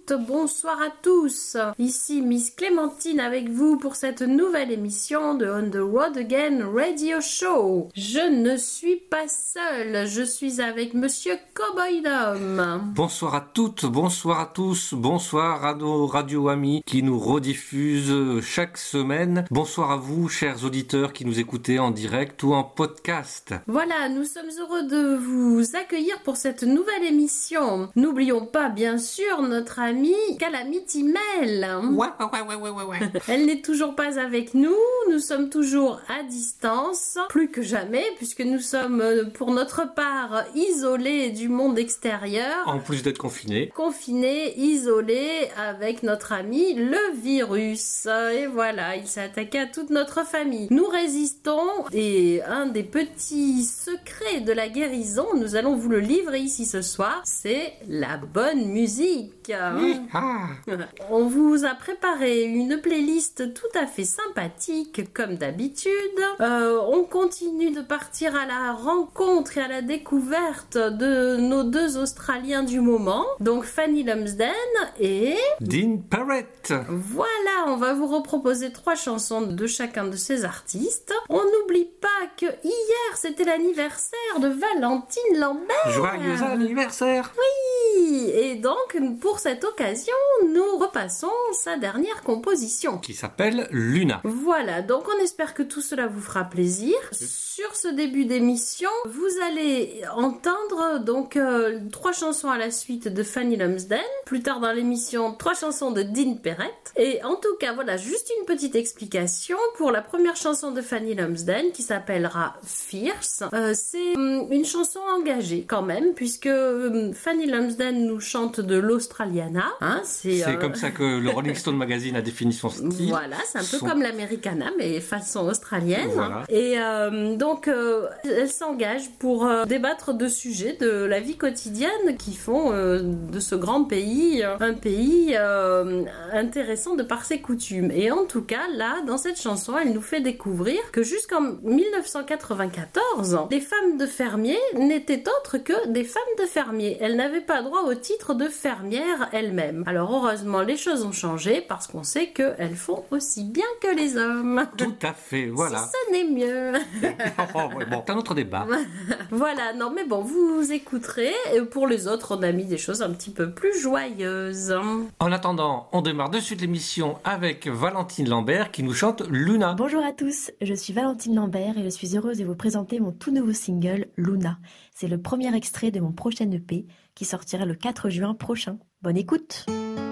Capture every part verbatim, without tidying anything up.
toutes, bonsoir à tous. Ici Miss Clémentine avec vous pour cette nouvelle émission de On the Road Again Radio Show. Je ne suis pas seule, je suis avec Monsieur Cowboy Dom. Bonsoir à toutes, bonsoir à tous, bonsoir à nos radio-amis qui nous rediffusent chaque semaine. Bonsoir à vous, chers auditeurs qui nous écoutez en direct ou en podcast. Voilà, nous sommes heureux de vous accueillir pour cette nouvelle émission. N'oublions pas, bien sûr, notre amie Calamity Mel. Ouais, ouais, ouais, ouais, ouais, ouais. Elle n'est toujours pas avec nous, nous sommes toujours à distance, plus que jamais, puisque nous sommes, pour notre part, isolés du monde extérieur. En plus d'être confinés. Confinés, isolés, avec notre ami le virus. Et voilà, il s'est attaqué à toute notre famille. Nous résistons, et un des petits secrets de la guérison, nous allons vous le livrer ici ce soir, c'est la bonne musique. Ah. On vous a préparé une playlist tout à fait sympathique, comme d'habitude. Euh, on continue de partir à la rencontre et à la découverte de nos deux Australiens du moment, donc Fanny Lumsden et Dean Parrett. Voilà, on va vous reproposer trois chansons de chacun de ces artistes. On n'oublie pas que hier, c'était l'anniversaire de Valentine Lambert. Joyeux anniversaire. Oui, et donc, pour cette occasion, nous repassons sa dernière composition. Qui s'appelle Luna. Voilà, donc on espère que tout cela vous fera plaisir. Sur ce début d'émission, vous allez entendre donc euh, trois chansons à la suite de Fanny Lumsden. Plus tard dans l'émission, trois chansons de Dean Parrett. Et en tout cas, voilà, juste une petite explication pour la première chanson de Fanny Lumsden qui s'appellera Fierce. Euh, c'est hum, une chanson engagée quand même, puisque hum, Fanny Lumsden nous chante de l'Australiana. Hein, c'est c'est euh... comme ça que le Rolling Stone Magazine a défini son style. Voilà, c'est un peu son... comme l'Americana, mais façon australienne. Voilà. Et euh, donc, euh, elle s'engage pour euh, débattre de sujets de la vie quotidienne qui font euh, de ce grand pays euh, un pays euh, intéressant de par ses coutumes. Et en tout cas, là, dans cette chanson, elle nous fait découvrir que jusqu'en dix-neuf cent quatre-vingt-quatorze, les femmes de fermiers n'étaient autres que des femmes de fermiers. Elles n'avaient pas droit au titre de fermière elles-mêmes. Alors heureusement, les choses ont changé parce qu'on sait qu'elles font aussi bien que les hommes. Tout à fait, voilà. Si ce n'est mieux. Oh, ouais, bon, c'est un autre débat. Voilà, non mais bon, vous écouterez. Et pour les autres, on a mis des choses un petit peu plus joyeuses. En attendant, on démarre de suite l'émission avec Valentine Lambert qui nous chante Luna. Bonjour à tous, je suis Valentine Lambert et je suis heureuse de vous présenter mon tout nouveau single, Luna. C'est le premier extrait de mon prochain E P qui sortira le quatre juin prochain. Bonne écoute!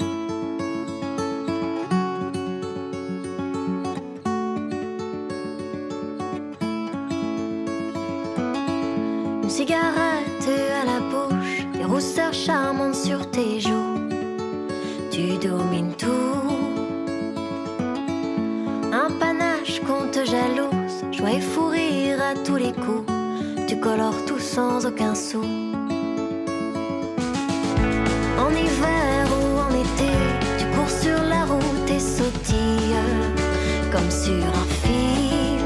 Une cigarette à la bouche, des rousseurs charmantes sur tes joues. Tu domines tout. Un panache qu'on te jalouse, joie et fou rire à tous les coups. Tu colores tout sans aucun sou. En hiver ou en été, tu cours sur la route et sautilles comme sur un fil.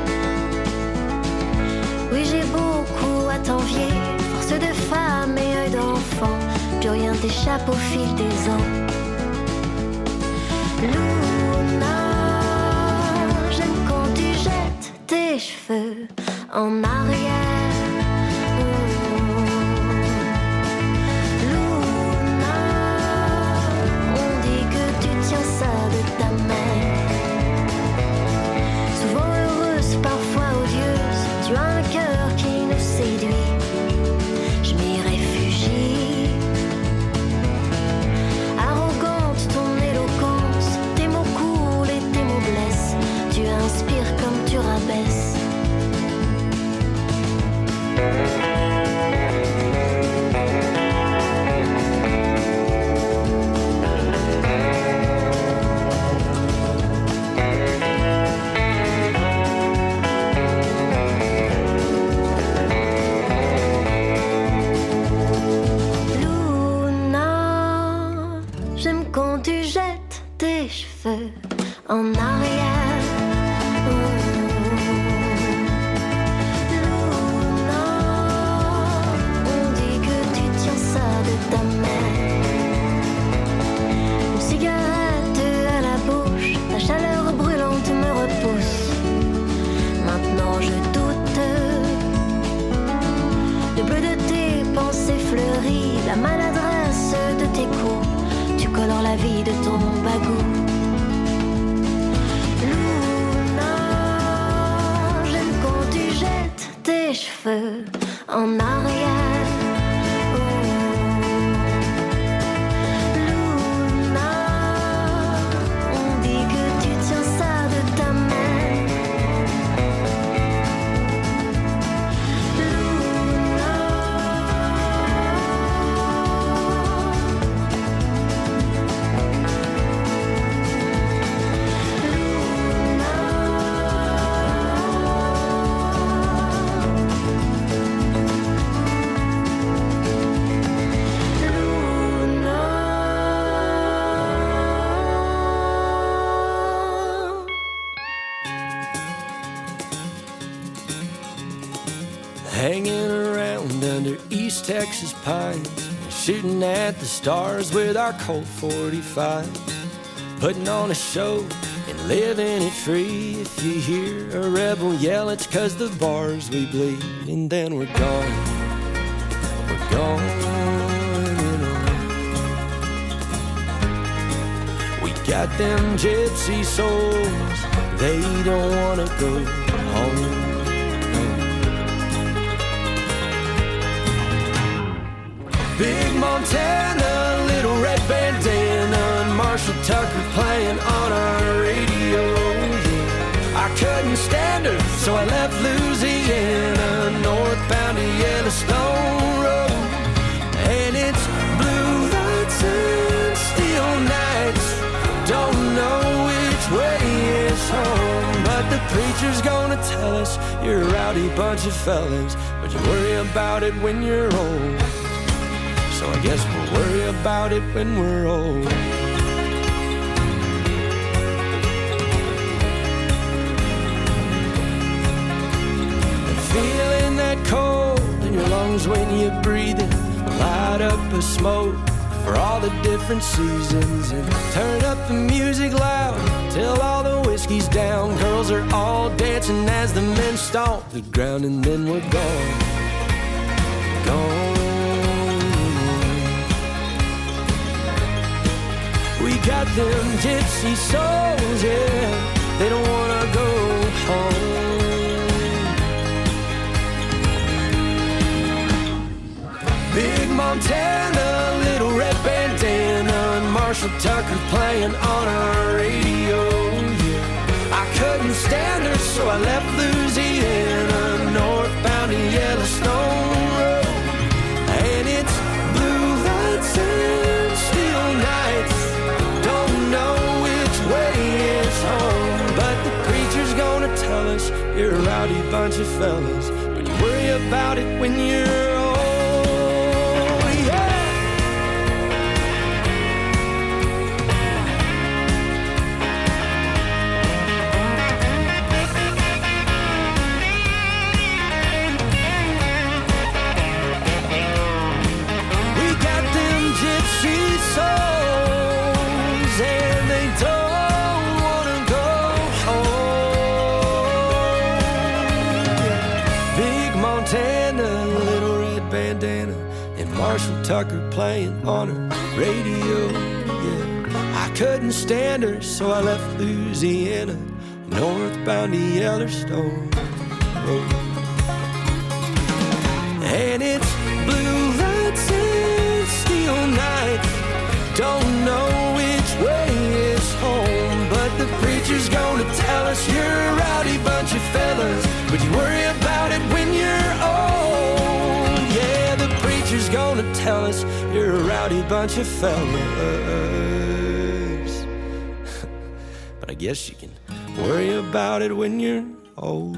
Oui, j'ai beaucoup à t'envier, force de femme et œil d'enfant, plus rien t'échappe au fil des ans. Luna, j'aime quand tu jettes tes cheveux en arrière. En arrière, Luna, on dit que tu tiens ça de ta mère. la maladresse de tes coups, tu colores la vie de ton bagou. Luna, j'aime quand tu jettes tes cheveux en arrière. Hanging around under East Texas pines, shooting at the stars with our Colt forty-fives, putting on a show and living it free. If you hear a rebel yell, it's 'cause the bars we bleed, and then we're gone, we're gone, you know. We got them gypsy souls, they don't wanna go home. Big Montana, little red bandana, and Marshall Tucker playing on our radio. Yeah. I couldn't stand her, so I left Louisiana, northbound to Yellowstone Road. And it's blue lights and steel nights, don't know which way is home. But the preacher's gonna tell us you're a rowdy bunch of fellas, but you worry about it when you're old. So I guess we'll worry about it when we're old. And feeling that cold in your lungs when you breathe it, light up a smoke for all the different seasons, and turn up the music loud till all the whiskey's down. Girls are all dancing as the men stomp the ground, and then we're gone, gone. We got them gypsy souls, yeah, they don't wanna go home. Big Montana, little red bandana, and Marshall Tucker playing on our radio, yeah. I couldn't stand her, so I left Louisiana, northbound to Yellowstone Road. And it's blue lights and steel nights, know which way is home. But the preacher's gonna tell us you're a rowdy bunch of fellas, but you worry about it when you're old, yeah. We got them gypsy souls, and they don't wanna go home. Big Montana, little red bandana, and Marshall Tucker playing on her radio, yeah. I couldn't stand her, so I left Louisiana, northbound to Yellowstone Road. And it's blue lights and steel nights, don't know which way is home. But the preacher's gonna tell us you're a rowdy bunch of fellas, but you worry about it when you're old. Yeah, the preacher's gonna tell us you're a rowdy bunch of fellas, but I guess you can worry about it when you're old.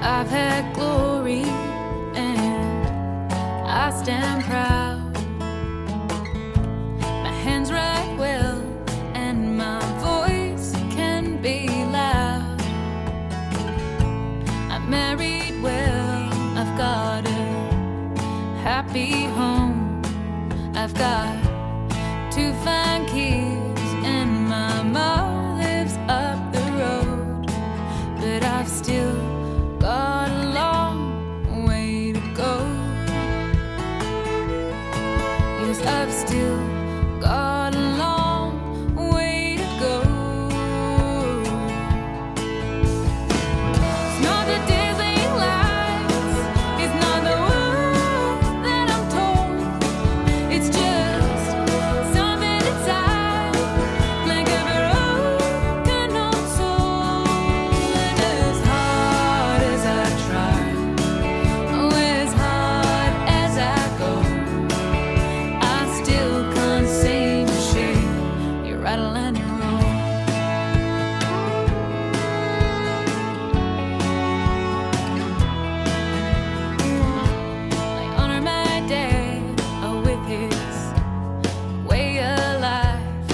I've had glory and I stand proud. My hands write well and my voice can be loud. I'm married well, I've got a happy home. I've got two fine kids and my mom lives up the road. But I've still got a long way to go. Yes, I've still got a long way to go. It's not the dazzling lights, it's not the words that I'm told. It's just something inside, like a broken old soul. And as hard as I try, oh, as hard as I go, I still can't seem to shake your rattle and your roll. I honor my dad, oh, with his way of life.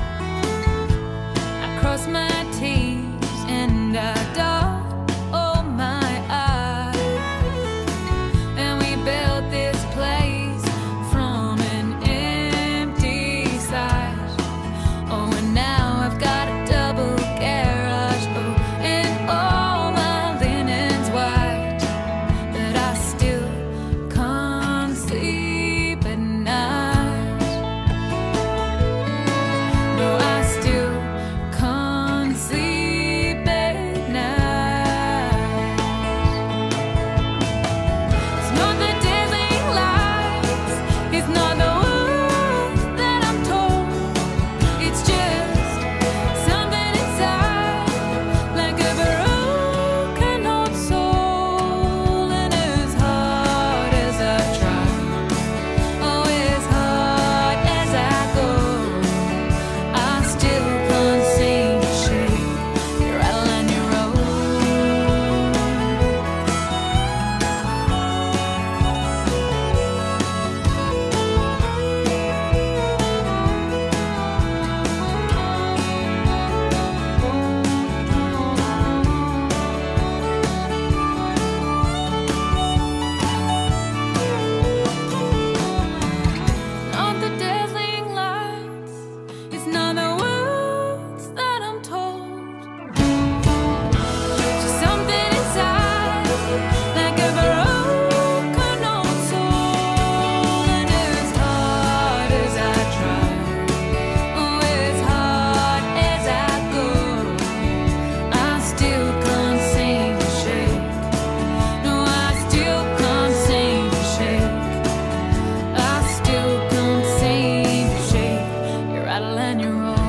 I cross my T's and I dot all my I's. And we built this place from an empty site. Oh, and now I've got a double garage. Oh, and all my linen's white. But I still can't sleep at night. No, I still can't sleep at night. It's not the dazzling lights, it's not the words that I'm told. It's just something inside, like a broken old soul. And as hard as I try, oh, as hard as I go, I still can't seem to shake your rattle and your roll. Not the dazzling lights, it's not the words that I'm told. Just something inside, like a broken old soul. And as hard as I try, oh, as hard as I go, I still can't seem to shake. No, I still can't seem to shake. I still can't seem to shake your rattle and your roll.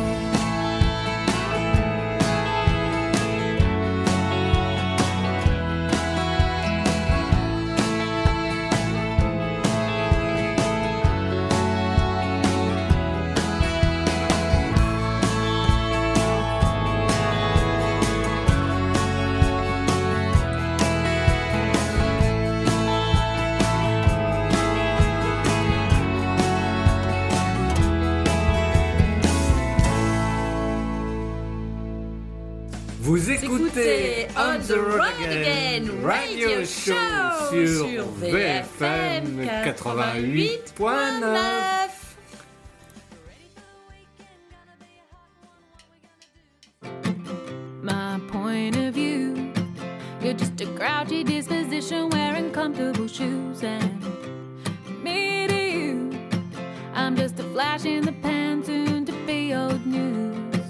Vous écoutez On the Road Again Radio Show sur V F M quatre-vingt-huit point neuf. My point of view, you're just a grouchy disposition wearing comfortable shoes. And me to you, I'm just a flash in the pan, soon to be old news.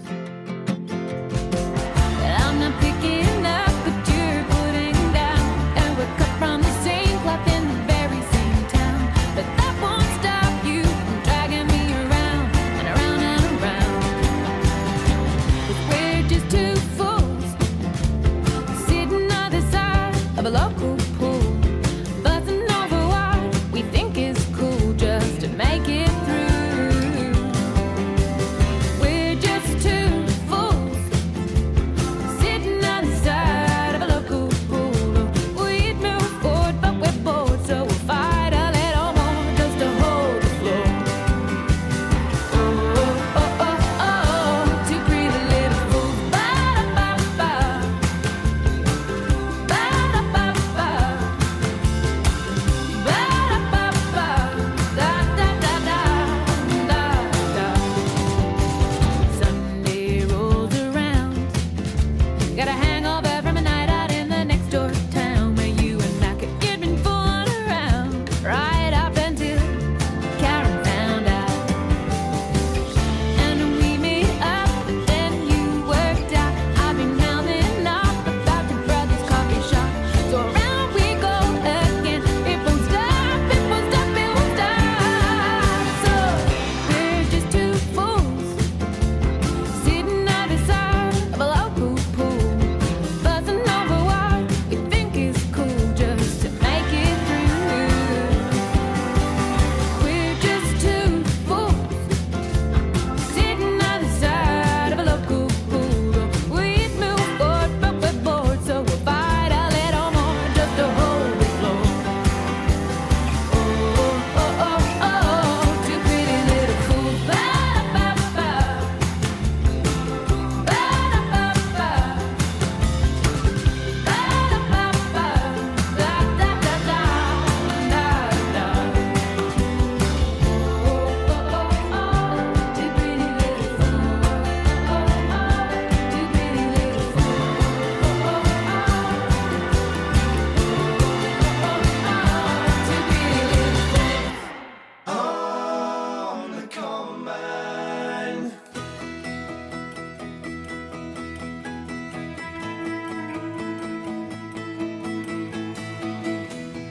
But I'm not picking up what you're putting down, and we're cut from the same cloth in the very same town. But that won't stop you from dragging me around and around and around. 'Cause we're just two fools sitting either side of a local pool, buzzing over what we think is cool just to make it through.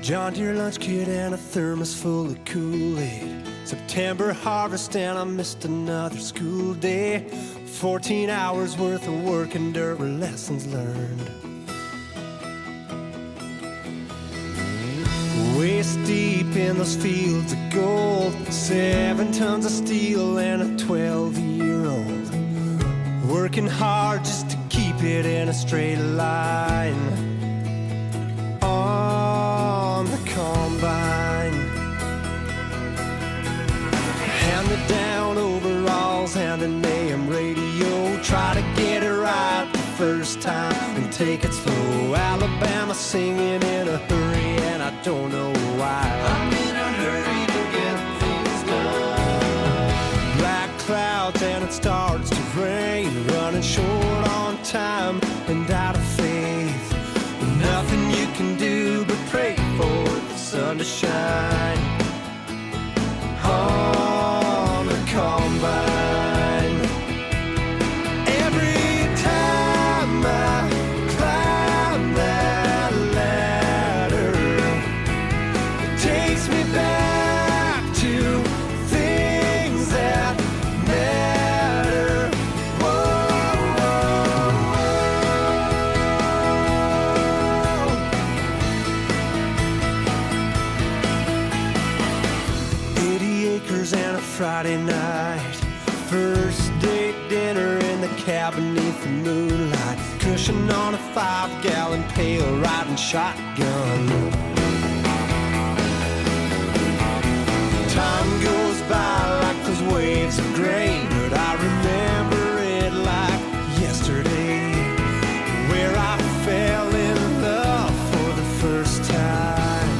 John Deere lunch kit and a thermos full of Kool-Aid. September harvest and I missed another school day. Fourteen hours worth of work and dirt were lessons learned. Waist deep in those fields of gold, seven tons of steel and a twelve-year-old, working hard just to keep it in a straight line on the combine. Hand-me-down overalls and an A M radio, try to get it right the first time and take it slow. Alabama singing in a hurry and I don't know why. I'm in a hurry to get things done. Black clouds and it starts to rain, running short on time and out of faith. Nothing you can do but pray for the sun to shine on the combine. Every time I climb that ladder, it takes me back to things that matter. Whoa, whoa, whoa. Eighty acres and a Friday night, first date dinner in the cabin beneath the moonlight, cushion on a five-gallon pail, riding shotgun. Time goes by like those waves of grain, but I remember it like yesterday, where I fell in love for the first time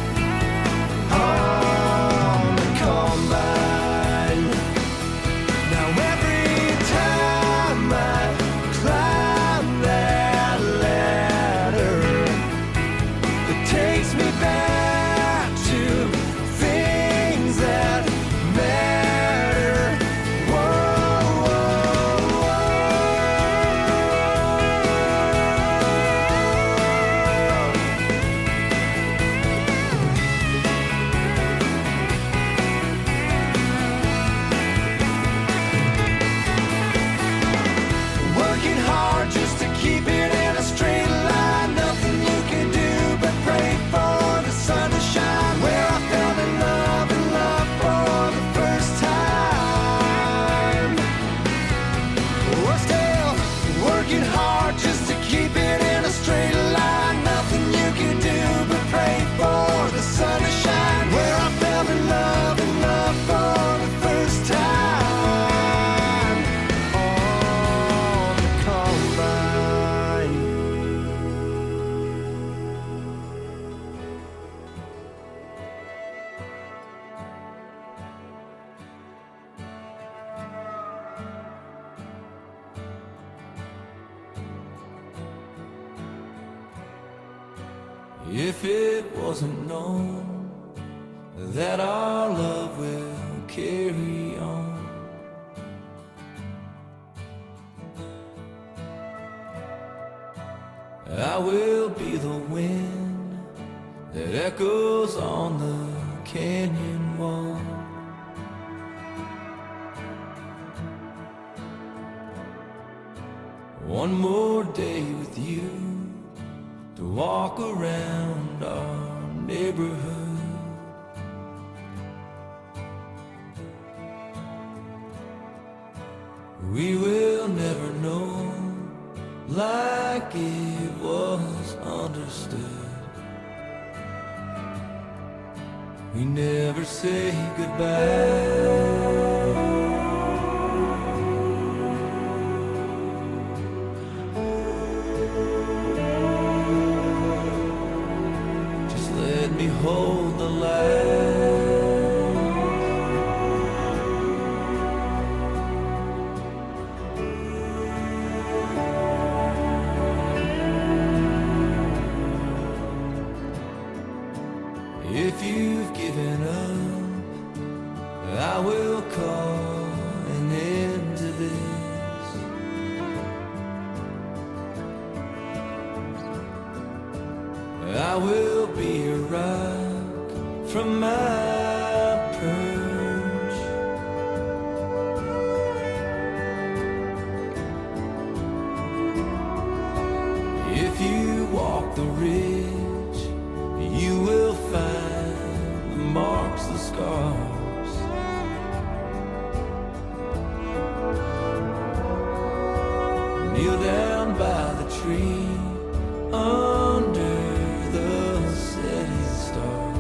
on the combine. Now every time I climb that ladder, it takes me back to things that matter. Whoa, whoa, working hard just to keep it in a straight line. Nothing you can do but pray for the sun to shine. Where I fell in love and love for the first time. We're still working hard just to keep it in a straight line. Nothing you can do but pray for the sun to shine. Where I fell in love and love for the first time on the combine. If it wasn't known that our love will carry on, I will be the wind that echoes on the canyon wall. One more day with you to walk around our neighborhood. We will never know like it was understood. We never say goodbye. Just let me hold the light. If you've given up, I will call an end to this. I will be a rock from my perch. If you walk the ridge, you will find the marks, the scars. Kneel down by the tree under the setting star.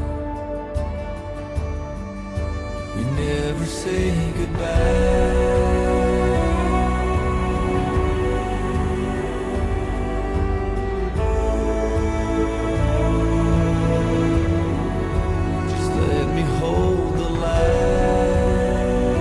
We never say goodbye. Just let me hold the light.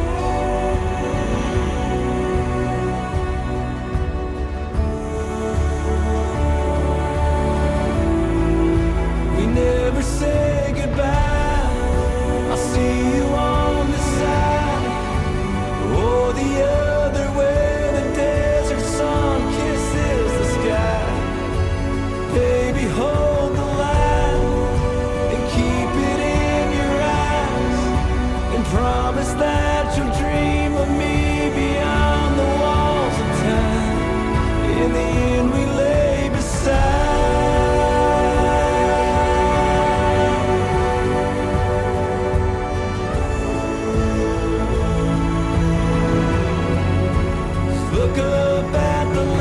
We never say goodbye. I'll see you on the side or the other way. The desert sun kisses the sky. Baby, hold the light and keep it in your eyes, and promise that you'll dream of me beyond the walls of time. In the end, we lay beside. Look up at the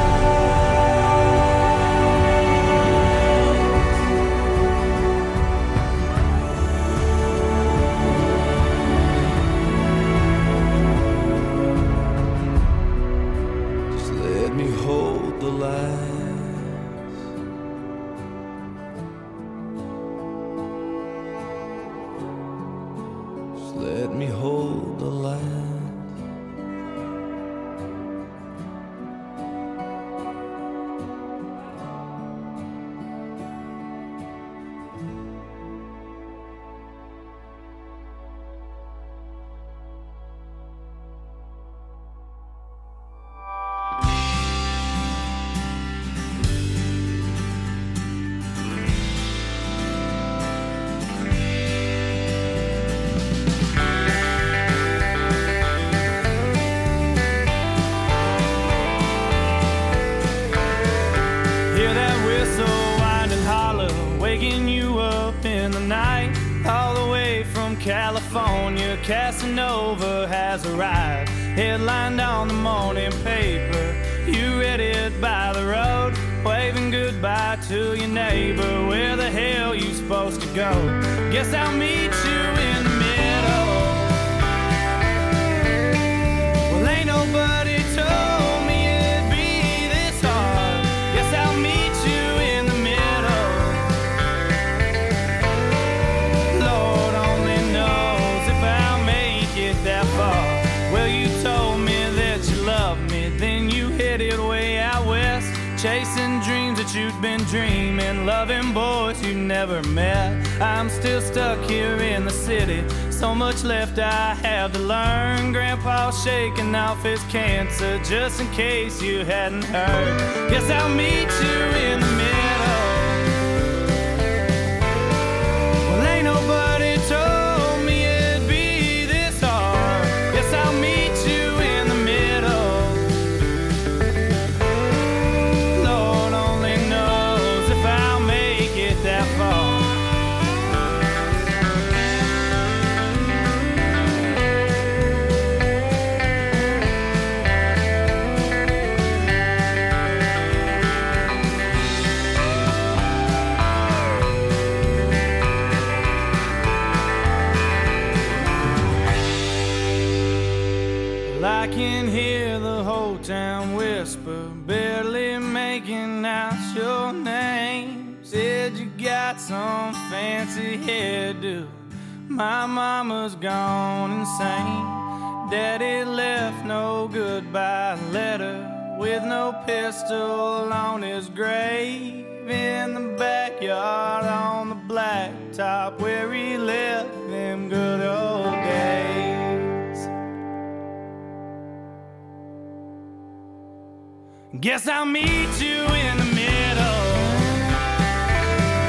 lights. Just let me hold the lights. Just let me hold the lights. Hear that whistle winding hollow, waking you up in the night. All the way from California, Casanova has arrived. Headlined on the morning paper, you read it by the road, waving goodbye to your neighbor. Where the hell you supposed to go? Guess I'll meet you in the middle. Well, ain't nobody told me it'd be this hard. Guess I'll meet you in the middle. Lord only knows if I'll make it that far. Well, you told me that you loved me, then you headed way out west, chasing dreams that you'd been dreaming, loving boys you never met. I'm still stuck here in the city, so much left I have to learn. Grandpa's shaking off his cancer, just in case you hadn't heard. Guess I'll meet you in the middle. Well, ain't nobody told me it'd be this hard. Guess I'll meet you in the middle. Lord only knows if I'll make it that far. I can hear the whole town whisper, barely making out your name. Said you got some fancy hairdo, my mama's gone insane. Daddy left no goodbye letter, with no pistol on his grave. In the backyard on the blacktop, where he left them good old days. Guess I'll meet you in the middle.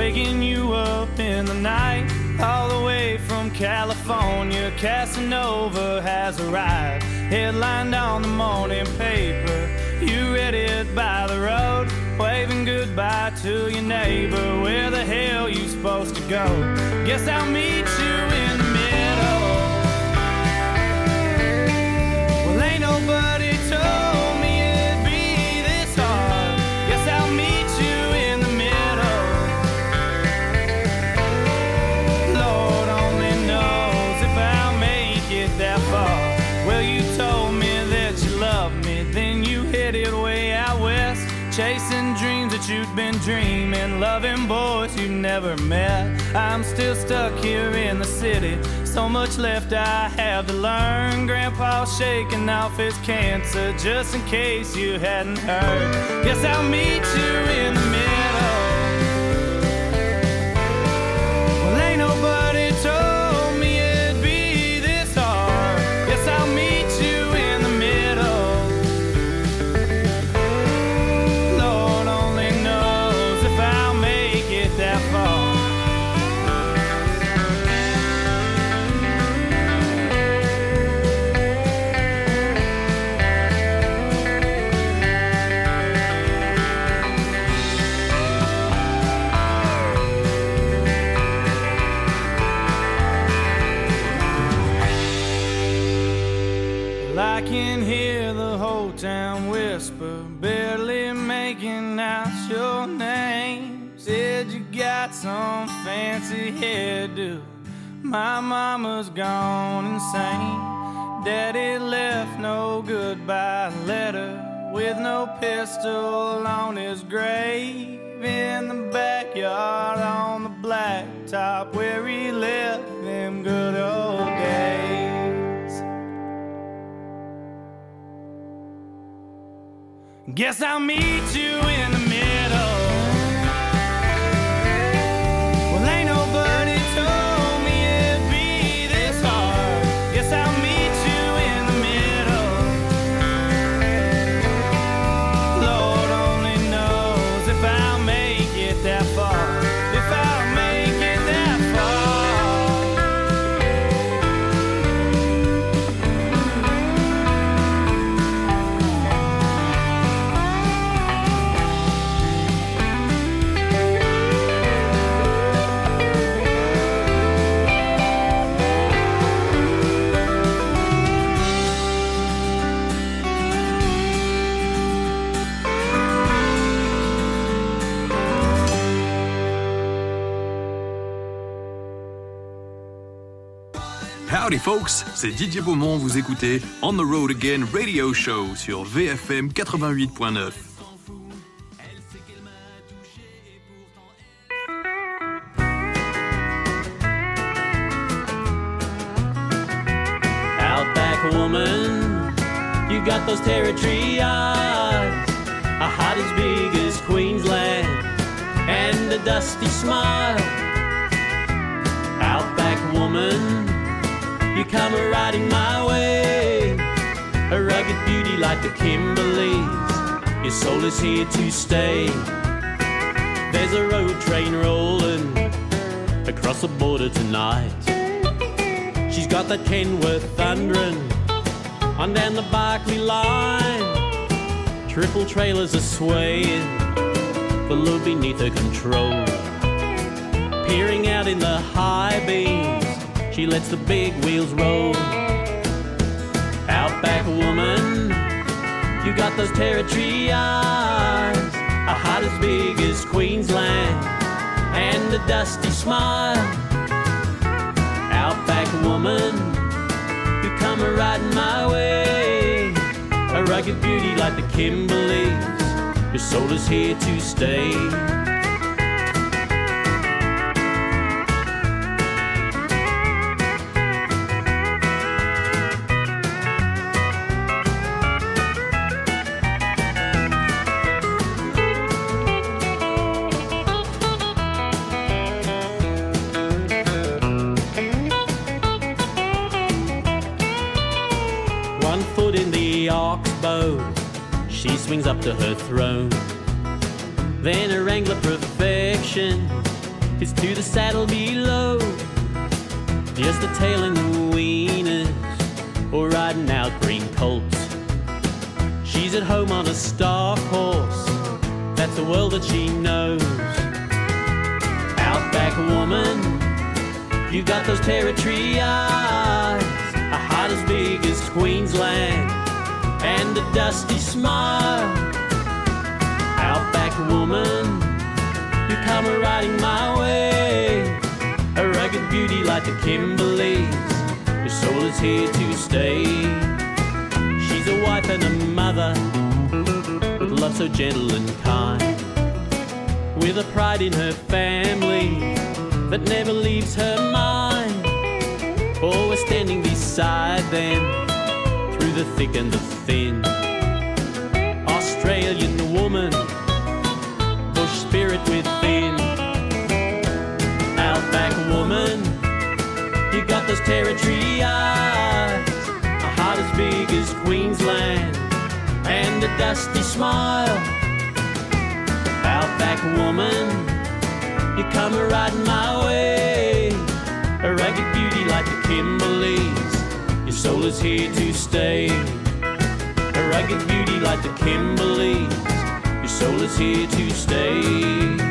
waking you up in the night. All the way from California, Casanova has arrived. Headlined on the morning paper, you read it by the road, waving goodbye to your neighbor. Where the hell you supposed to go? Guess I'll meet you in the middle. Well, ain't nobody told me it'd be this hard. Guess I'll meet you in the middle. Lord only knows if I'll make it that far. Well, you told me that you loved me, then you headed way out west, chasing dreams that you'd been dreaming, loving boys you never met. I'm still stuck here in the city, so much left I have to learn. Grandpa's shaking off his cancer, just in case you hadn't heard. Guess I'll meet you in the middle. Well, ain't nobody told me it'd be this hard. Guess I'll meet you in the middle. Lord only knows if I'll make it that far. I can hear the whole town whisper, barely making out your name. Said you got some fancy hairdo, my mama's gone insane. Daddy left no goodbye letter, with no pistol on his grave. In the backyard on the blacktop, where he left them good old days. Guess I'll meet you in the middle. Well, ain't nobody told me it'd be this hard. Guess I'll meet you in the middle. Lord only knows if I'll make it that far. If I'll make it that far. Howdy folks, c'est Didier Beaumont, vous écoutez On the Road Again Radio Show sur V F M quatre-vingt-huit point neuf. Outback woman, you got those territory eyes, a heart as big as Queensland, and a dusty smile. Outback woman, you come riding my way, a rugged beauty like the Kimberleys. Your soul is here to stay. There's a road train rolling across the border tonight. She's got that Kenworth thundering on down the Barclay line. Triple trailers are swaying, the load beneath her control. Peering out in the high beams, she lets the big wheels roll. Outback woman, you got those territory eyes, a heart as big as Queensland, and a dusty smile. Outback woman, you come riding my way, a rugged beauty like the Kimberleys. Your soul is here to stay. She swings up to her throne, then a Wrangler perfection, It's to the saddle below, just the tail and the wieners, or riding out green colts. She's at home on a stock horse, that's the world that she knows. Outback woman, you got those territory eyes, a heart as big as Queensland, and a dusty smile. Outback woman, you come riding my way, a rugged beauty like the Kimberleys, your soul is here to stay. She's a wife and a mother, with love so gentle and kind, with a pride in her family that never leaves her mind. Always standing beside them through the thick and the thin. Australian woman, bush spirit within. Outback woman, you got those territory eyes, a heart as big as Queensland, and a dusty smile. Outback woman, you come riding my way, a rugged beauty like the Kimberleys, your soul is here to stay. A rugged beauty like the Kimberleys, your soul is here to stay.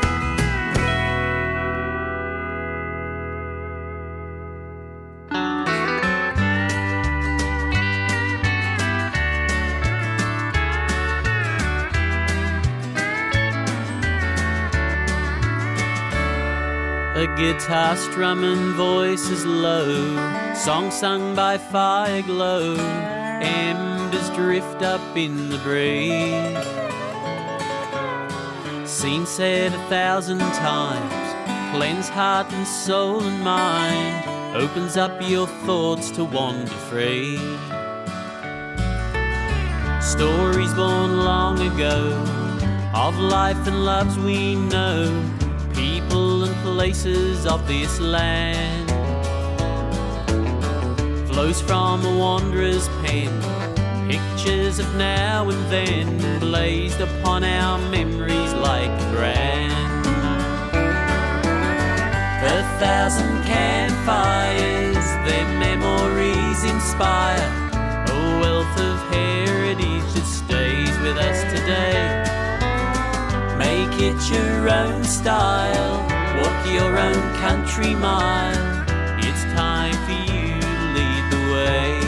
A guitar strumming, voices low, song sung by fire glow, embers drift up in the breeze. Scene said a thousand times, cleanse heart and soul and mind, opens up your thoughts to wander free. Stories born long ago, of life and loves we know, people and places of this land, flows from a wanderer's pen, pictures of now and then, blazed upon our memories like a brand. A thousand campfires, their memories inspire, a wealth of heritage that stays with us today. Make it your own style, walk your own country mile, it's time for you to lead the way.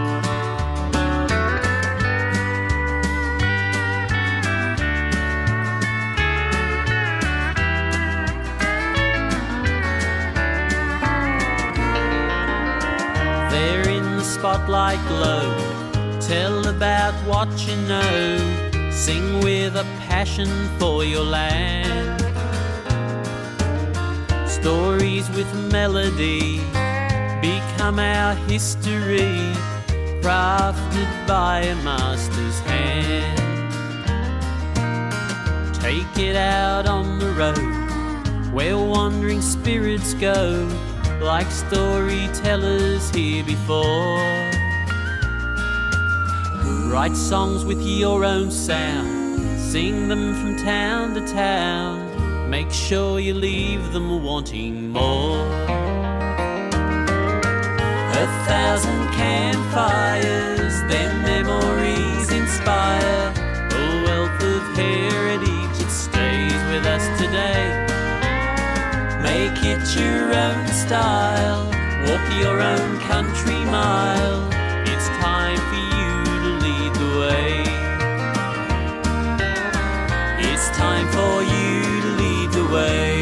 There in the spotlight glow, tell about what you know, sing with a passion for your land. Stories with melody become our history, crafted by a master's hand. Take it out on the road, where wandering spirits go, like storytellers here before. Write songs with your own sound, sing them from town to town, make sure you leave them wanting more. A thousand campfires, their memories inspire, a wealth of heritage that stays with us today. Make it your own style, walk your own country mile, it's time for you to lead the way. It's time for you to lead the way.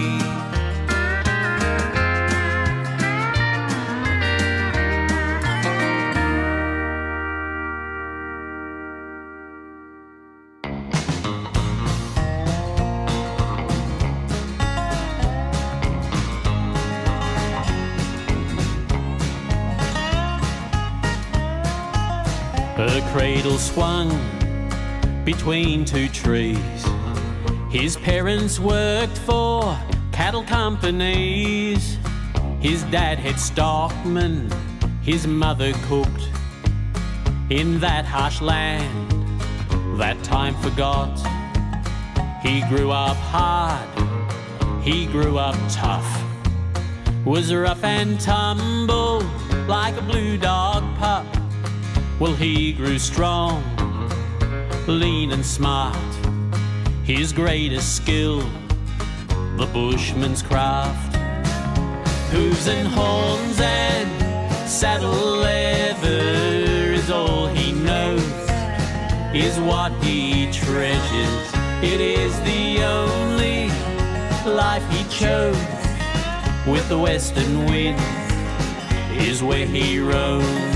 Her cradle swung between two trees. His parents worked for cattle companies. His dad had stockmen, his mother cooked. In that harsh land, that time forgot. He grew up hard, He grew up tough, was rough and tumble like a blue dog pup. Well, he grew strong, lean and smart. His greatest skill, the bushman's craft. Hooves and horns and saddle leather is all he knows, is what he treasures. It is the only life he chose. With the western wind is where he roams.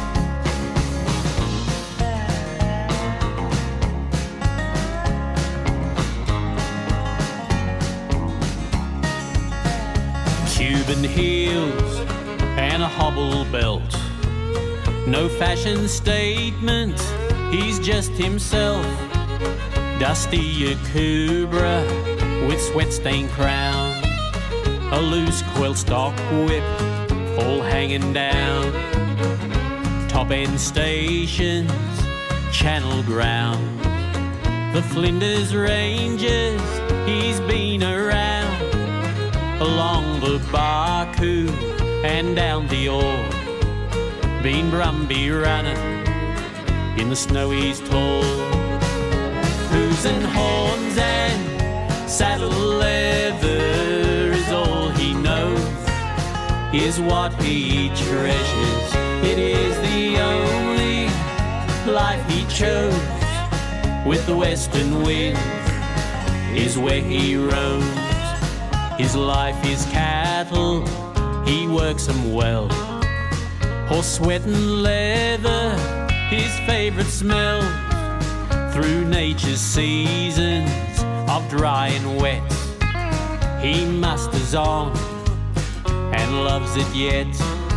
Cuban heels and a hobble belt, no fashion statement, he's just himself. Dusty Yakubra with sweat-stained crown, a loose quilt stock whip all hanging down. Top-end stations, channel ground, the Flinders Ranges he's been around. Along the Barcoo and down the Ore, been Brumby running in the snow he's tall. Hooves and horns and saddle leather is all he knows, is what he treasures. It is the only life he chose. With the western wind is where he roams. His life is cattle, he works them well. Horse sweat and leather, his favourite smells. Through nature's seasons of dry and wet, he musters on and loves it yet.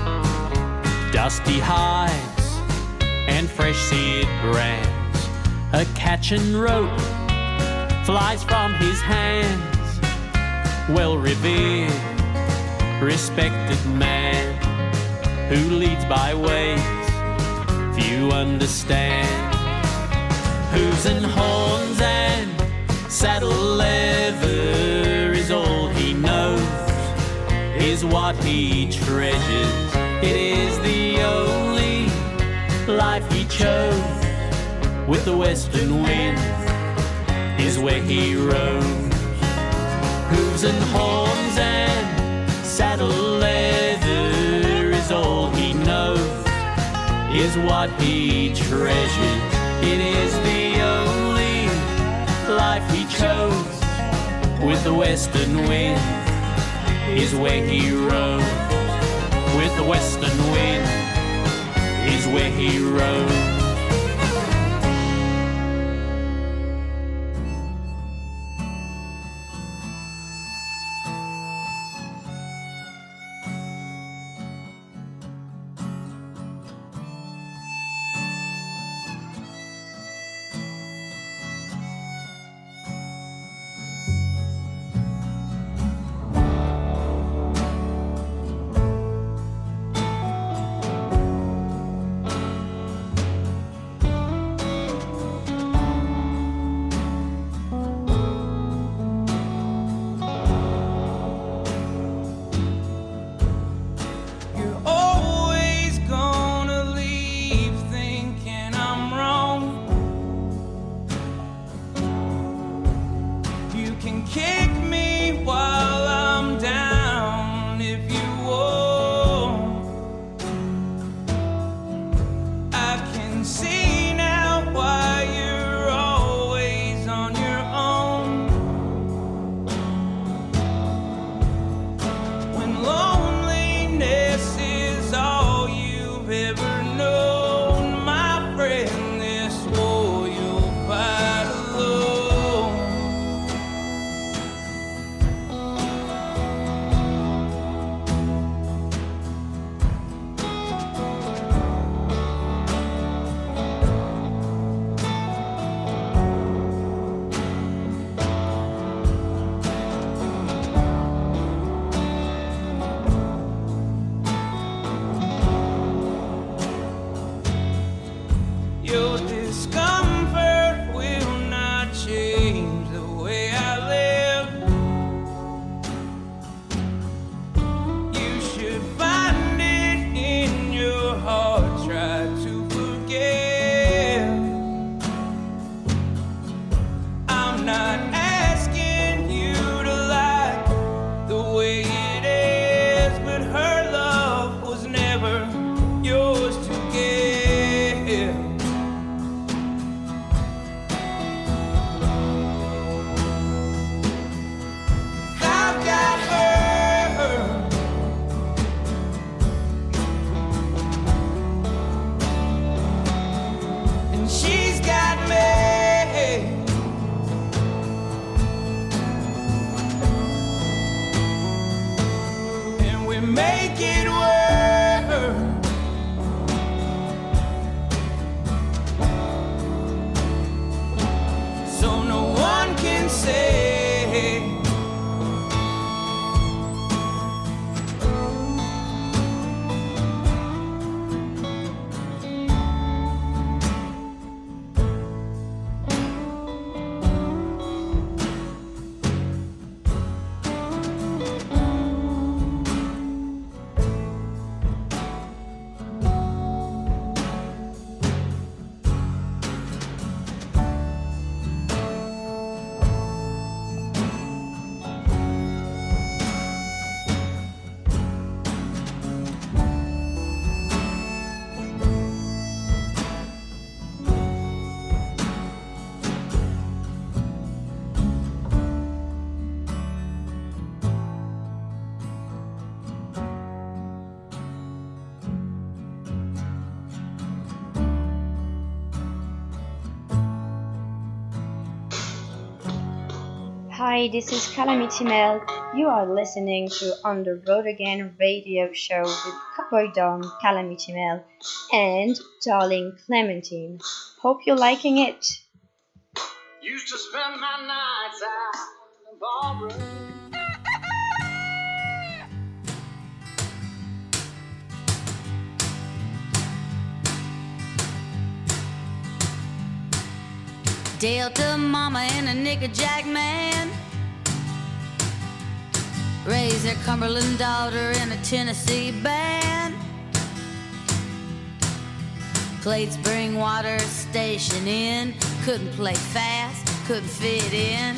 Dusty hides and fresh seared brands, a catch and rope flies from his hands. Well revered, respected man, who leads by ways few understand. Hooves and horns and saddle leather is all he knows, is what he treasures. It is the only life he chose. With the western wind is where he roams. Hooves and horns and saddle leather is all he knows, is what he treasures. It is the only life he chose. With the western wind is where he roams. With the western wind is where he roams. Hi, this is Calamity Mel. You are listening to On the Road Again radio show with Cowboy Dom, Calamity Mel, and Darling Clementine. Hope you're liking it. Used to spend my nights out in the ballroom. Delta mama and a nickerjack man raised their Cumberland daughter in a Tennessee band. Played Springwater Station Inn. Couldn't play fast, couldn't fit in.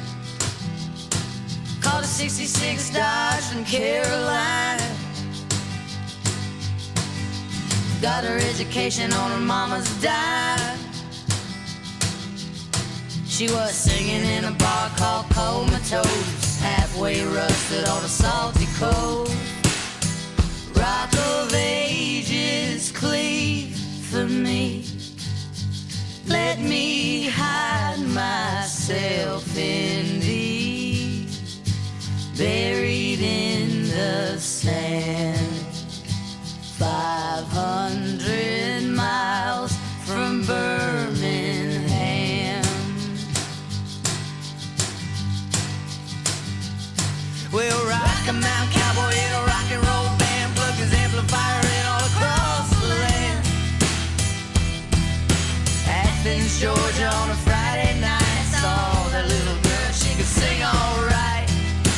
Called a sixty-six Dodge from Carolina. Got her education on her mama's dime. She was singing in a bar called Comatose, halfway rusted on a salty coast. Rock of Ages, cleave for me. Let me hide myself in thee, buried in the sand. Five hundred miles from Birmingham. Well, rock a mountain cowboy in a rock and roll band, plug his amplifier in all across the land. Athens, Georgia on a Friday night, saw that little girl, she could sing alright.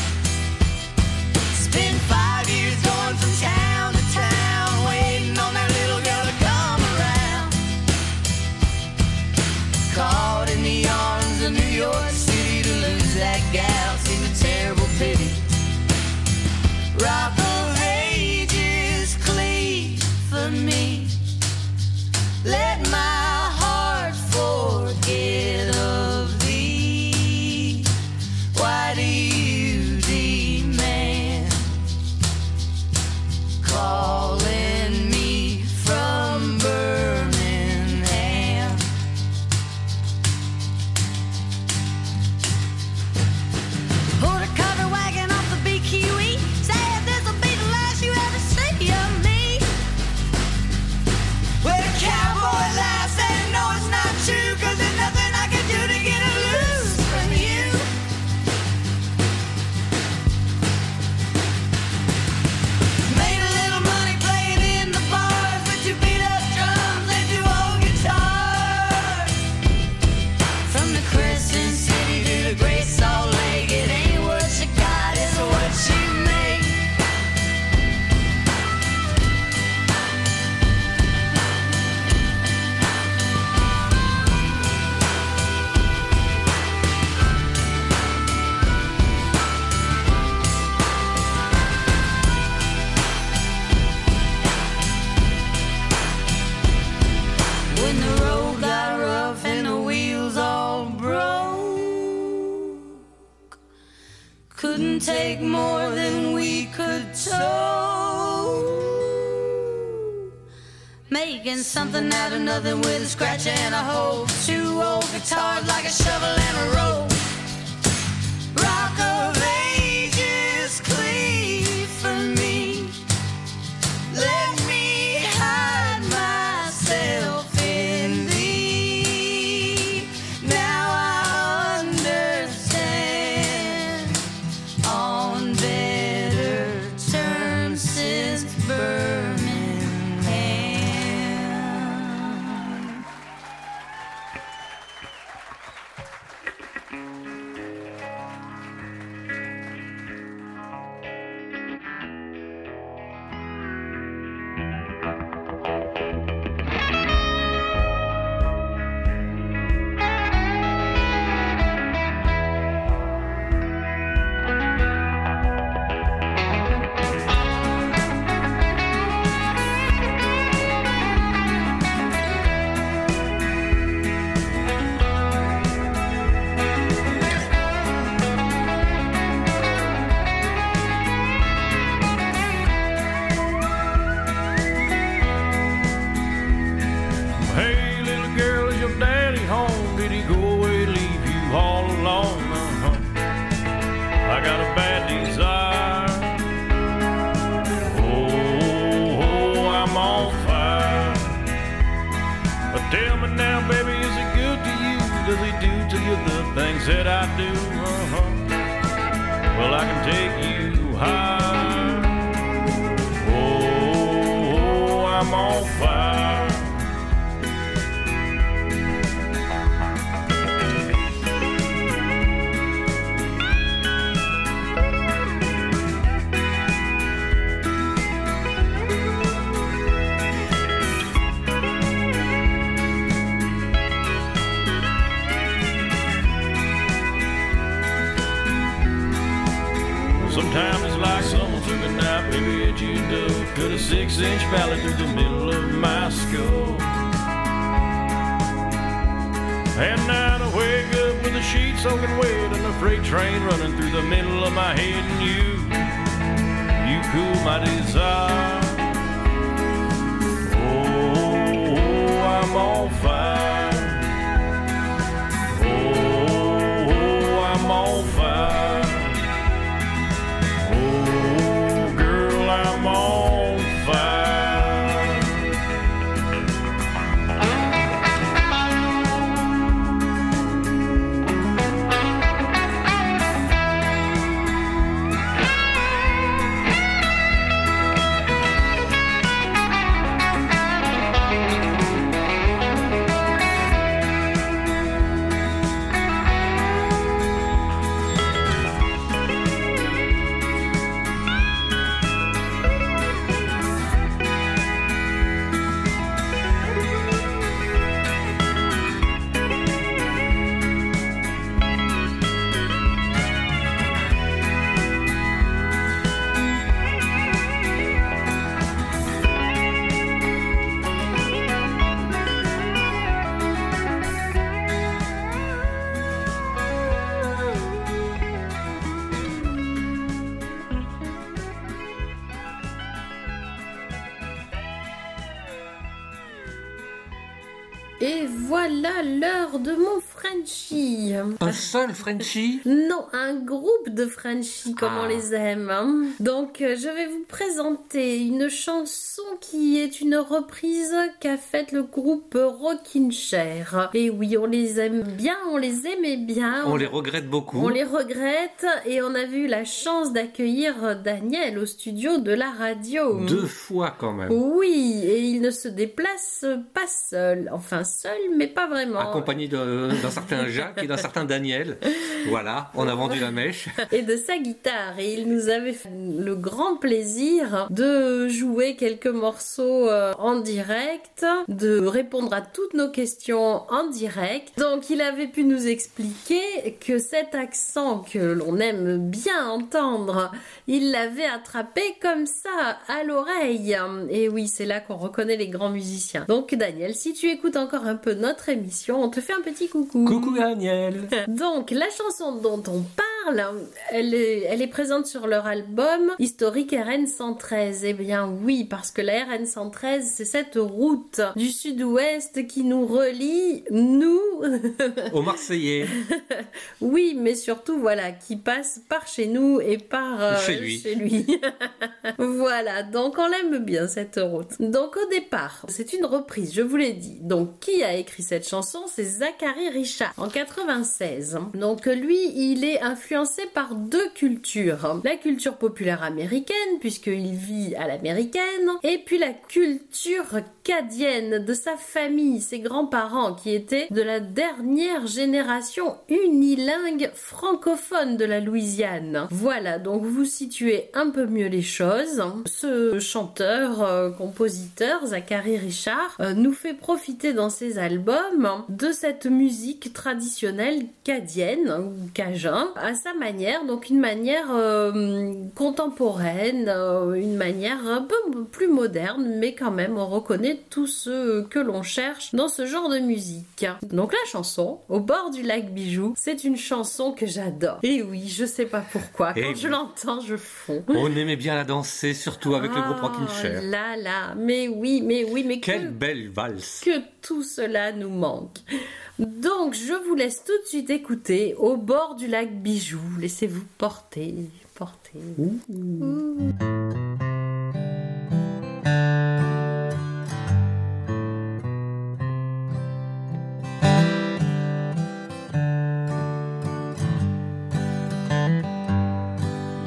Spent five years going from town to town, waiting on that little girl to come around. Caught in the arms of New York City, to lose that gal seemed a terrible pity. Rock of Ages, cleave for me. Let my heart forget of thee. Why do you demand calling me from Birmingham? Pulled a cover wagon off the B Q E. Said this'll be the last you ever see of me. Well, the cowboy laughs and no, it's not true, 'cause there's nothing I can do to get her loose from you. Made a little money playing in the bars with two beat up drums and two old guitars. From the Crescent City to the Great Salt Lake, it ain't what you got, it's what you make. When the road got rough and the wheels all broke, couldn't take more than we could tow. Making something out of nothing with a scratch and a hole. Two old guitars like a shovel and a rope. Rock of Ages, cleave for me. Let me hide myself in thee. Now I understand, on better terms since Birmingham. does he do to you the things that I do? Uh-huh. Well, I can take you high. Oh, I'm on fire. Sometimes it's like someone took a knife, maybe at you do. Cut a six-inch valley through the middle of my skull. And now I wake up with the sheets soaking wet and a freight train running through the middle of my head. And you, you cool my desire. Oh, I'm on fire. Oh, I'm on fire. I'm on fire. Et voilà l'heure de mon Frenchie. Un seul Frenchie? Non, un groupe de Frenchie comme Ah. on les aime. hein. Donc euh, je vais vous présenter une chanson qui est une reprise qu'a faite le groupe Rockin' Chair. Et oui, on les aime bien, on les aimait bien. On les regrette beaucoup. On les regrette et on avait eu la chance d'accueillir Daniel au studio de la radio. Deux fois quand même. Oui, et il ne se déplace pas seul. Enfin seul, mais pas vraiment. Accompagné de- d'un certain Jacques et d'un certain Daniel. Voilà, on a vendu la mèche. Et de sa guitare. Et il nous avait fait le grand plaisir de jouer quelques morceaux euh, en direct, de répondre à toutes nos questions en direct. Donc il avait pu nous expliquer que cet accent que l'on aime bien entendre, il l'avait attrapé comme ça à l'oreille. Et oui, c'est là qu'on reconnaît les grands musiciens. Donc Daniel, si tu écoutes encore un peu notre émission, on te fait un petit coucou. Coucou Daniel. Donc la chanson dont on parle, elle est, elle est présente sur leur album historique R N cent treize. Eh bien oui, parce que la R N cent treize, c'est cette route du sud-ouest qui nous relie, nous, Aux Marseillais. oui, mais surtout, voilà, qui passe par chez nous et par euh, Chez lui. chez lui. Voilà, donc on l'aime bien cette route. Donc au départ, c'est une reprise, je vous l'ai dit. Donc qui a écrit cette chanson? C'est Zachary Richard en quatre-vingt-seize. Donc lui, il est influencé par deux cultures. La culture populaire américaine, puisqu'il vit à l'américaine, et puis la culture cadienne de sa famille, ses grands-parents qui étaient de la dernière génération unilingue francophone de la Louisiane. Voilà, donc vous situez un peu mieux les choses. Ce chanteur, euh, compositeur, Zachary Richard, euh, nous fait profiter dans ses albums de cette musique traditionnelle cadienne ou cajun à sa manière, donc une manière euh, contemporaine, euh, une manière un peu plus moderne, mais quand même on reconnaît tout ce que l'on cherche dans ce genre de musique. Donc la chanson Au bord du lac Bijou, c'est une chanson que j'adore. Et oui, je sais pas pourquoi, quand Et je oui. l'entends, je fonds. On aimait bien la danser, surtout avec le groupe Rockin' Chair. Oh là là, mais oui, mais oui, mais Quelle que, belle valse. que tout cela nous manque. Donc je vous laisse tout de suite écouter Au bord du lac Bijou. Laissez-vous porter, porter. Ouh.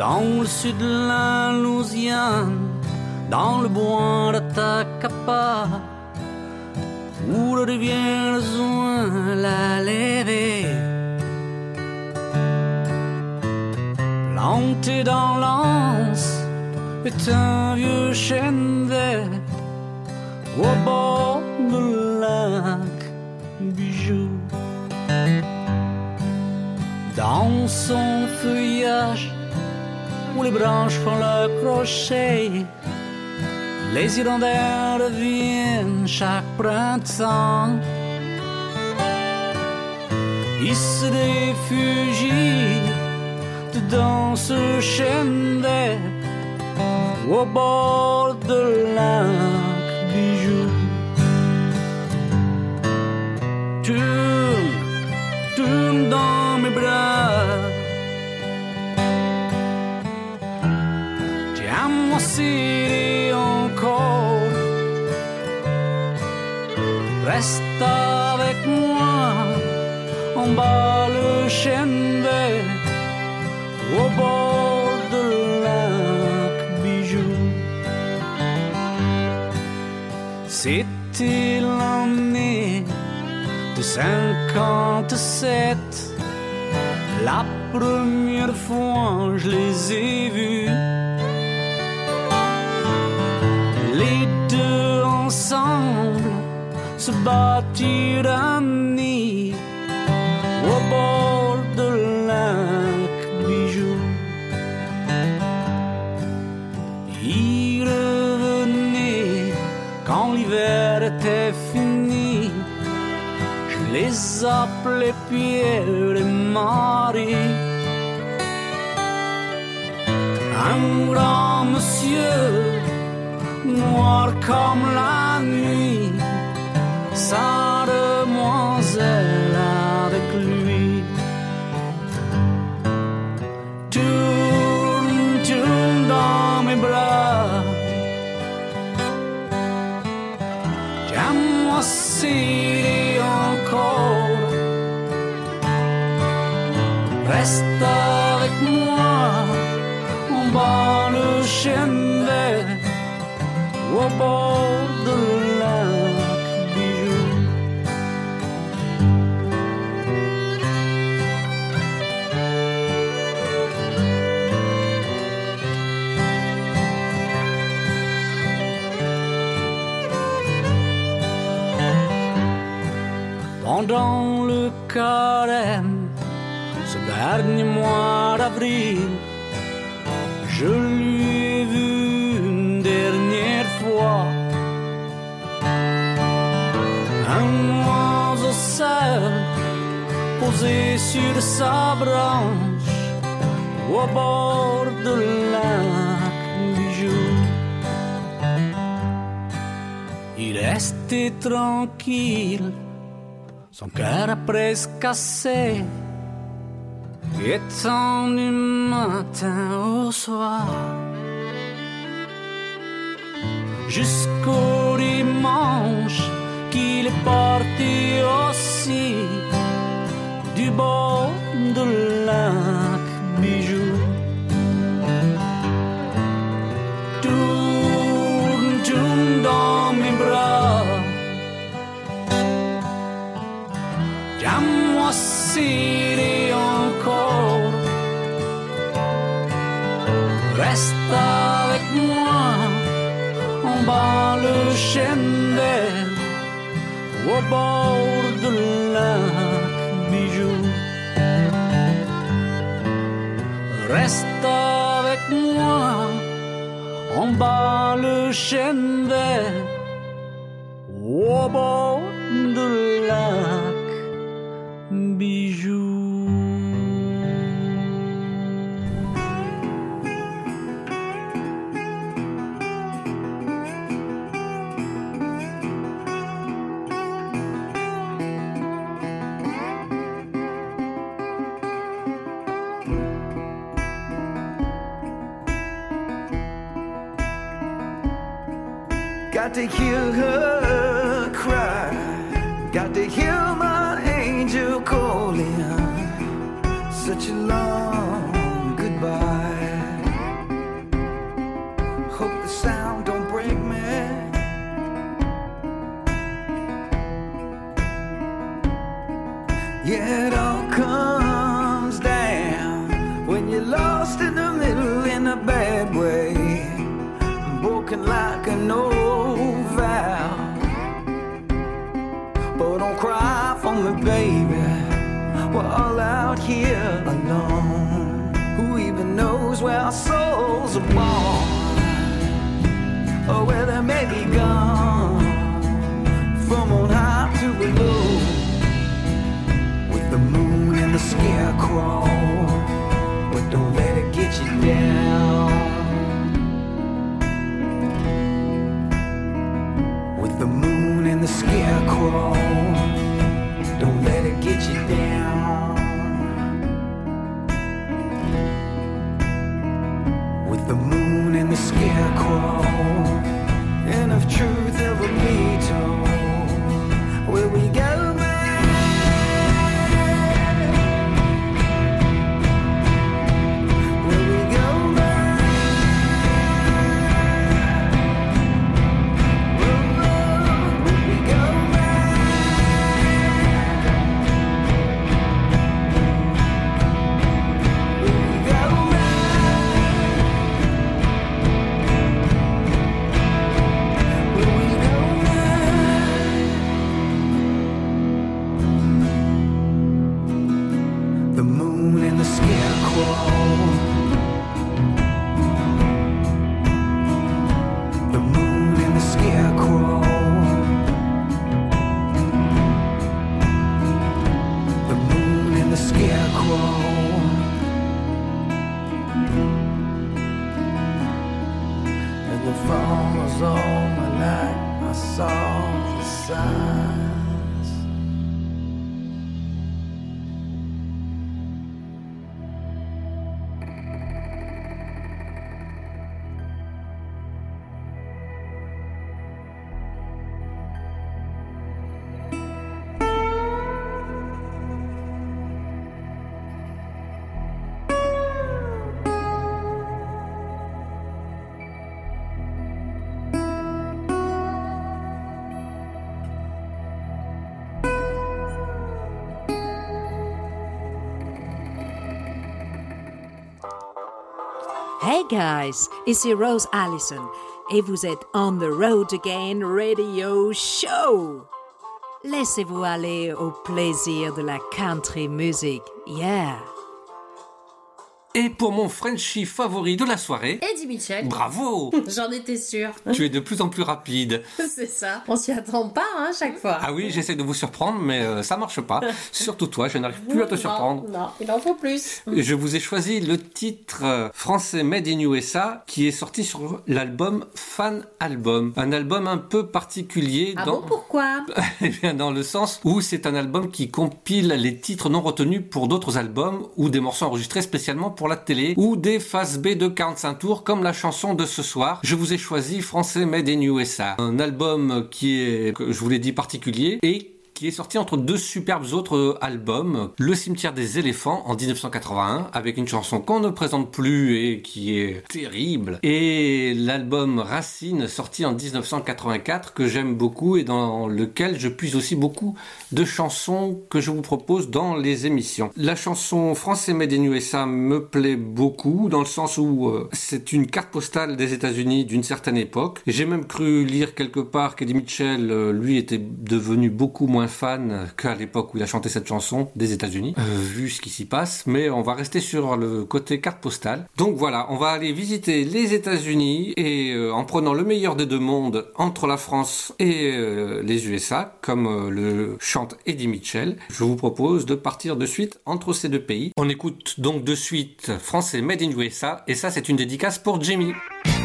dans le sud de la Louisiane, dans le bois d'Atacapa, où le rivière Zouin l'a levé. Planté dans l'anse est un vieux chêne vert au bord du lac Bijou. Dans son feuillage où les branches font leur crochet, les hirondelles reviennent chaque printemps. Ils se réfugient dans ce chêne vert au bord de lac Bijou. Tourne, tourne dans mes bras, tiens-moi serré encore, reste avec moi en bas le chêne vert au bord de lac Bijou. C'était l'année de cinquante-sept, la première fois je les ai vus, les deux ensemble se bâtir un nid au bord de lac Bijou. Ils revenaient quand l'hiver était fini. Je les appelais Pierre et Marie. Un grand monsieur, noir comme la nuit, sa demoiselle avec lui. Tourne, tourne dans mes bras, tiens-moi serré encore, reste avec moi en bas le chêne vert au bord de lac Bijou. Pendant le carême, ce dernier mois d'avril, je lui ai vu une dernière fois. Un oiseau seul posé sur sa branche au bord de lac Bijou. Il restait tranquille, son cœur a presque cassé, étant du matin au soir, jusqu'au dimanche qu'il est parti aussi du bord de lac Bijou. Tourne, tourne dans mes bras, tiens-moi serré encore, reste avec moi en bas le chêne vert au bord de lac Bijou. Reste avec moi en bas le chêne vert au bord de lac Bijou. Got to hear her cry, got to hear my angel calling, such a long goodbye. Yeah, it all comes down when you're lost in the middle in a bad way, broken like an old vow. But don't cry for me, baby, we're all out here alone. Who even knows where our souls are born, or where they may be gone, from on high to below, with the moon and the scarecrow. But don't let it get you down, with the moon and the scarecrow. Don't let it get you down, with the moon and the scarecrow. And if truth ever be told, will we go back? Will we go back? Will, will we go back? Will we go back? Will we go back? The moon and the scarecrow. The moon and the scarecrow. The moon and the scarecrow. And the phone was all my night. I saw the signs. Hey guys, ici Rose Allison et vous êtes On the Road Again Radio Show. Laissez-vous aller au plaisir de la country music, yeah. Et pour mon Frenchie favori de la soirée, Eddie Mitchell. Bravo. J'en étais sûre. Tu es de plus en plus rapide. C'est ça. On s'y attend pas, hein, chaque fois. Ah oui, j'essaie de vous surprendre, mais euh, ça marche pas. Surtout toi, je n'arrive plus à te surprendre. Non, non, il en faut plus. Je vous ai choisi le titre euh, français Made in U S A qui est sorti sur l'album Fan Album. Un album un peu particulier. Ah dans... bon, pourquoi? Eh bien, dans le sens où c'est un album qui compile les titres non retenus pour d'autres albums ou des morceaux enregistrés spécialement pour la télé ou des phases B de quarante-cinq tours comme la chanson de ce soir. Je vous ai choisi Français Made in U S A. Un album qui est, je vous l'ai dit, particulier et qui est sorti entre deux superbes autres albums, Le Cimetière des éléphants en dix-neuf cent quatre-vingt-un, avec une chanson qu'on ne présente plus et qui est terrible, et l'album Racine sorti en dix-neuf cent quatre-vingt-quatre que j'aime beaucoup et dans lequel je puise aussi beaucoup de chansons que je vous propose dans les émissions. La chanson Français Made in U S A me plaît beaucoup dans le sens où euh, c'est une carte postale des États-Unis d'une certaine époque. J'ai même cru lire quelque part qu'Eddie Mitchell, euh, lui, était devenu beaucoup moins fan qu'à l'époque où il a chanté cette chanson des États-Unis, euh, vu ce qui s'y passe, mais on va rester sur le côté carte postale. Donc voilà, on va aller visiter les États-Unis et euh, en prenant le meilleur des deux mondes entre la France et euh, les U S A, comme euh, le chante Eddie Mitchell, je vous propose de partir de suite entre ces deux pays. On écoute donc de suite Français Made in U S A et ça c'est une dédicace pour Jimmy.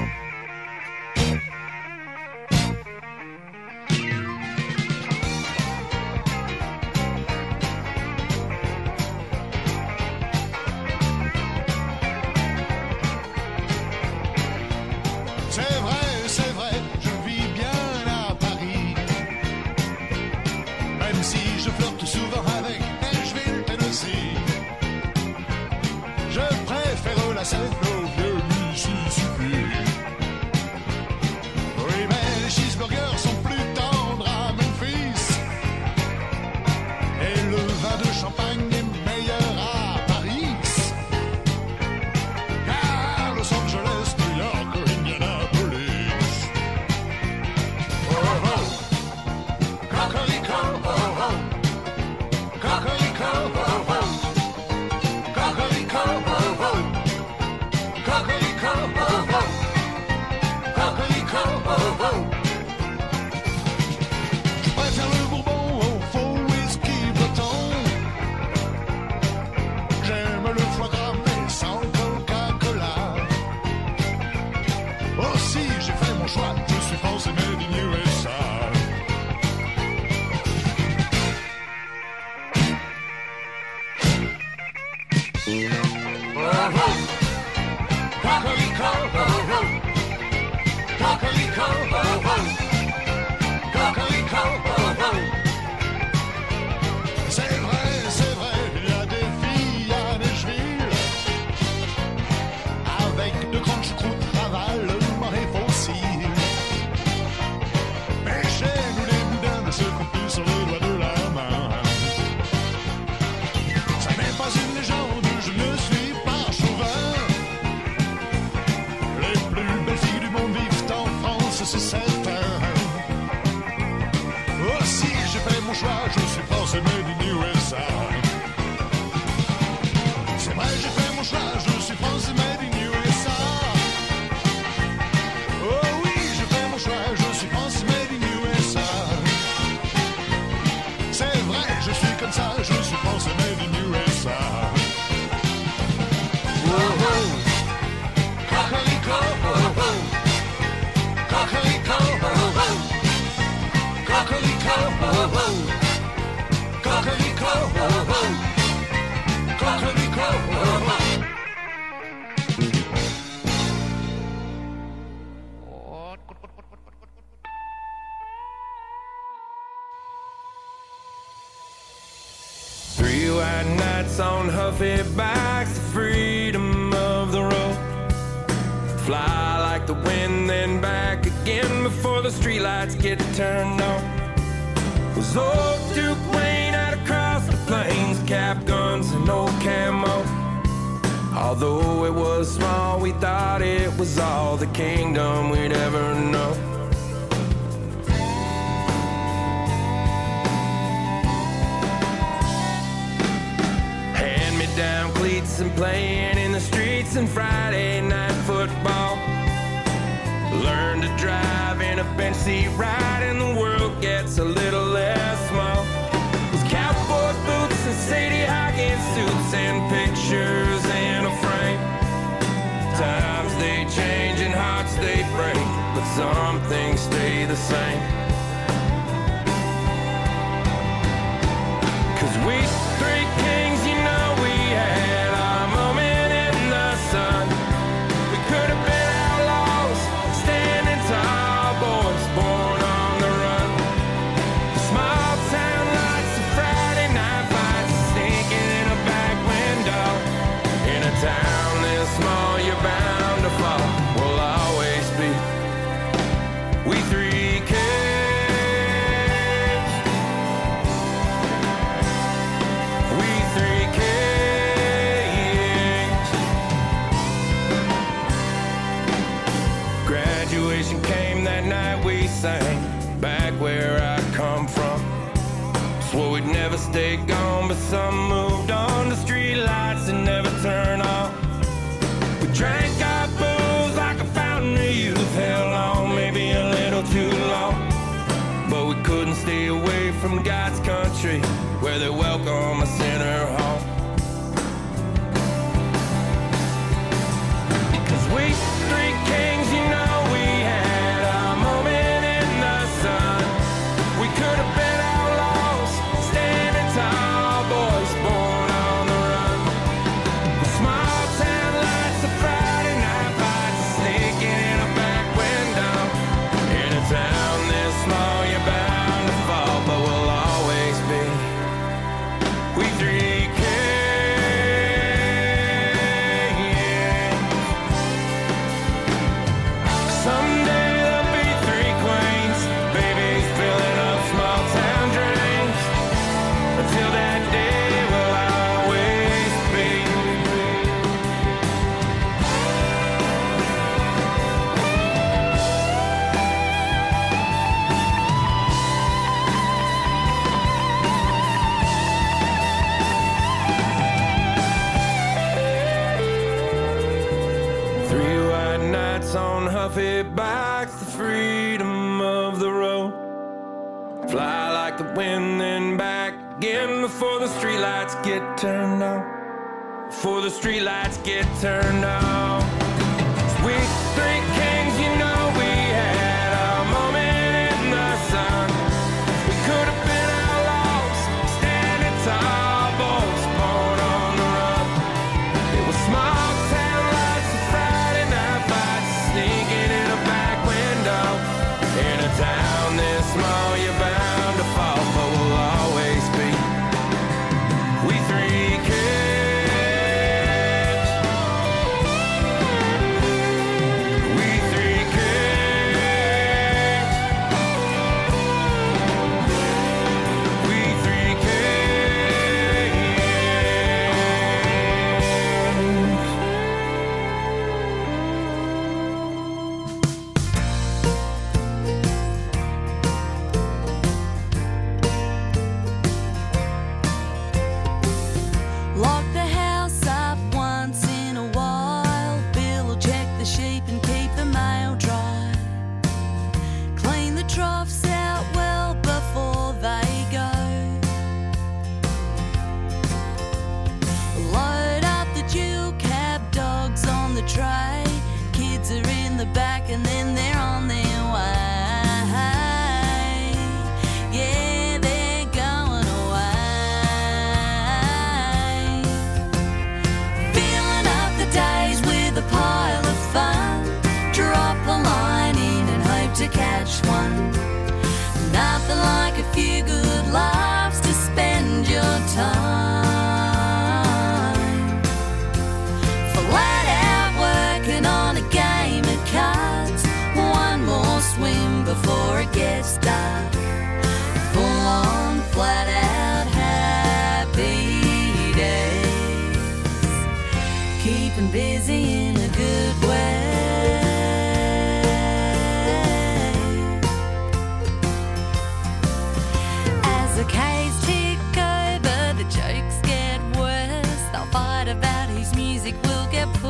C'est vrai, c'est vrai, je vis bien à Paris. Même si je flirte souvent avec Nashville, Tennessee. Je préfère la scène au vieux Mississippi. Oui, mais les cheeseburgers sont plus tendres à Memphis. Et le vin de champagne C'est vrai, c'est vrai, il y a des filles à Nashville avec de grandes choucroutes, ravalement et fossiles. Mais chez nous les boudins ne se comptent plus sur les doigts de la main. Ça n'est pas une légende, je ne suis pas chauvin. Les plus belles filles du monde vivent en France, c'est certain. Aussi j'ai fait mon choix, je suis français made in U S A. C'est vrai, j'ai fait mon choix, je suis français made in U S A. Oh oui, j'ai fait mon choix, je suis français made in U S A. C'est vrai, je suis comme ça, je suis français made in U S A. Oh oh, Cocorico, oh oh, Cocorico, oh oh, Cocorico, oh oh, Cocorico, oh oh, Cocorico, oh oh. Three white nights on Huffy bikes, the freedom of the road. Fly like the wind, then back again before the streetlights get turned on. Was old Duke Wayne out across the plains, cap guns and old camo. Although it was small, we thought it was all the kingdom we'd ever know. Hand-me-down cleats and playing in the streets and Friday night football. Learn to drive in a bench seat ride and the world gets a little less small. Those cowboy boots and Sadie Hawkins suits and pictures in a frame. Times they change and hearts they break, but some things stay the same. Cause we three kings, you know we had our moment in the sun. We could have been outlaws, standing tall, boys born on the run. Small town lights and Friday night fights, sneaking in a back window. In a town this small, you're bound to fall. We'll always be we three kings. We three kings. Graduation came that night we sang, back where I come from. Swore we'd never stay gone, but some moved on. The street lights and never turn off. We drank our booze like a fountain of youth. Hell on, maybe a little too long. But we couldn't stay away from God's country, where they welcome us in her home. Cause we three kings, you know we had our moment in the sun. We could have been outlaws, standing tall, boys born on the run. Small town lights, a Friday night fights, sneaking in a back window. In a town this small, you're bound to fall, but we'll always be we three kings. Someday there'll be three queens, babies filling up small town drains. Until that day, we'll always be. Three white nights on Huffy bikes, the freedom of the road. Fly like the wind, then back again before the streetlights get turned on. Before the streetlights get turned on. We three kings, you know we had our moment in the sun. We could have been outlaws, standing tall, boys born on the run.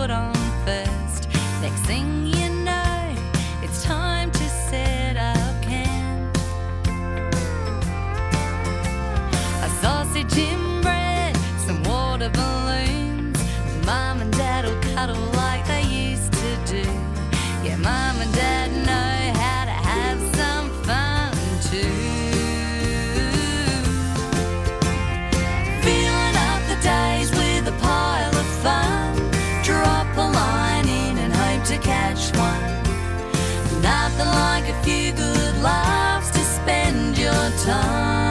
put on first. Next thing you know, it's time to set up camp. A sausage in bread, some water balloons. Mom and Dad will cuddle like they used to do. Yeah, Mom and Dad know how to have some fun too. Filling up the days with a pile of fun. Drop a line in and hope to catch one. Nothing like a few good laughs to spend your time.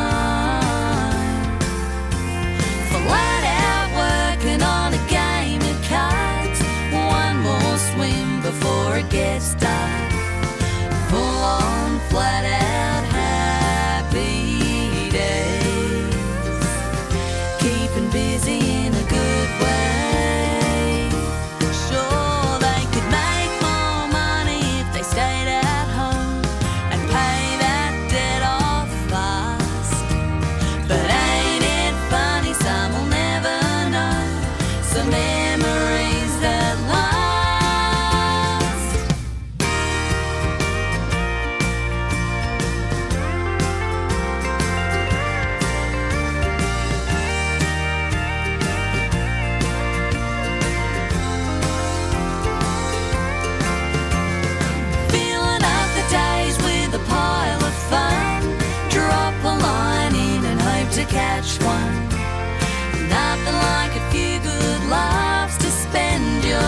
Flat out working on a game of cards. One more swim before it gets dark. Full on flat out happy days. Keeping busy in a good way. Sure, they could make more money if they stayed at home and pay that debt off fast. But ain't it funny, some will never know. Some memories that last. Filling up the days with a pile of fun. Drop a line in and hope to catch one. Nothing like a few good laughs to spend your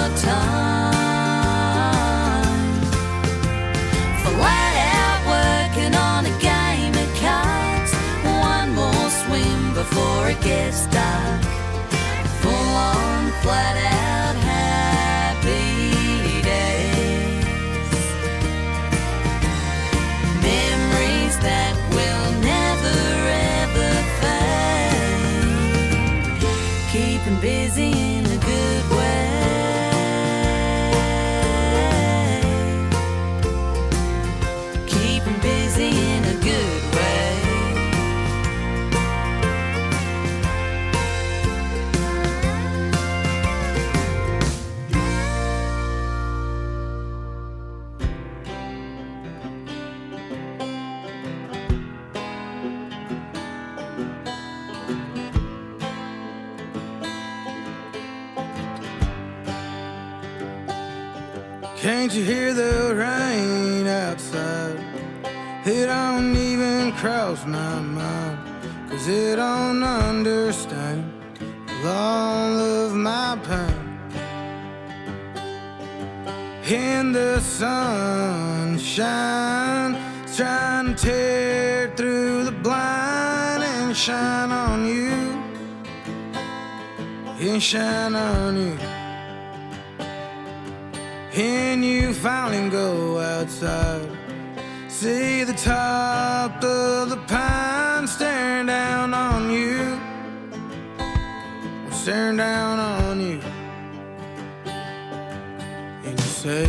time. Flat out working on a game of cards. One more swim before it gets dark. Full on flat out happy days. Memories that will never ever fade. Keeping busy in a good way. Keeping busy in a good way. Can't you hear the rain outside? It don't even cross my mind, 'cause it don't understand all of my pain. In the sunshine, it's trying to tear through the blind and shine on you, and shine on you. And you finally go outside, see the top of the pine staring down on you, staring down on you. And you say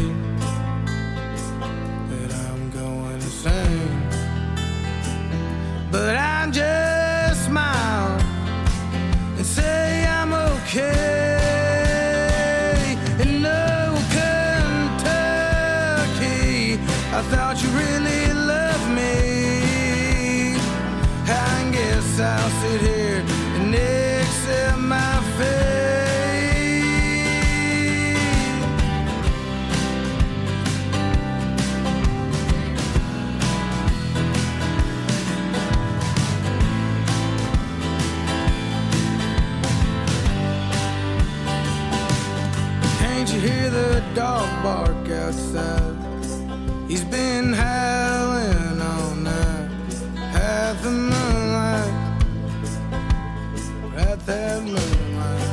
that I'm going insane, but I just smile and say I'm okay. I thought you really loved me. I guess I'll sit here and accept my fate. Can't you hear the dog bark outside? He's been howling all night at the moonlight, at that moonlight.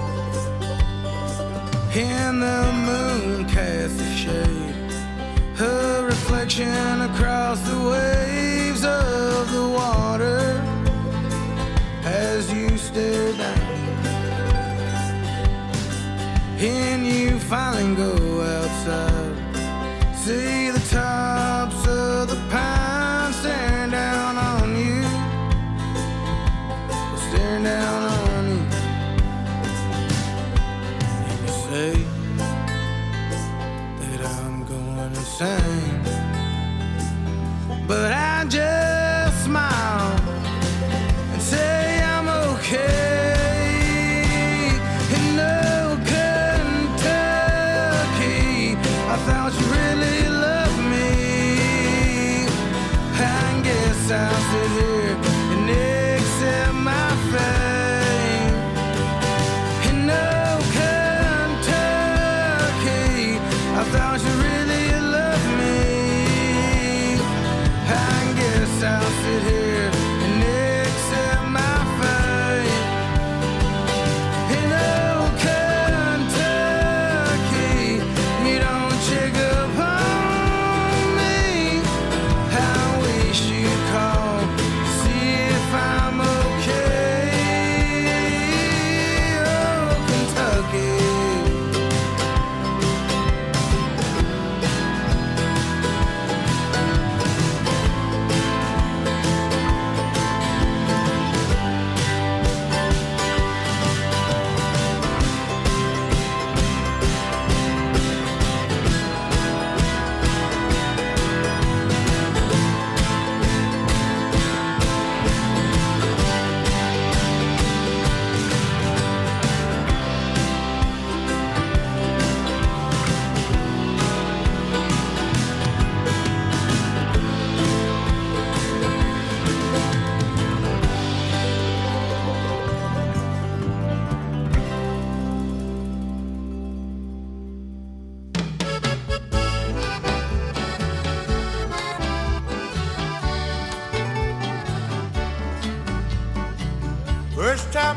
And the moon casts a shade, her reflection across the waves of the water as you stare down. And you finally go outside, see the tops of the pines staring down on you, staring down on you. And you say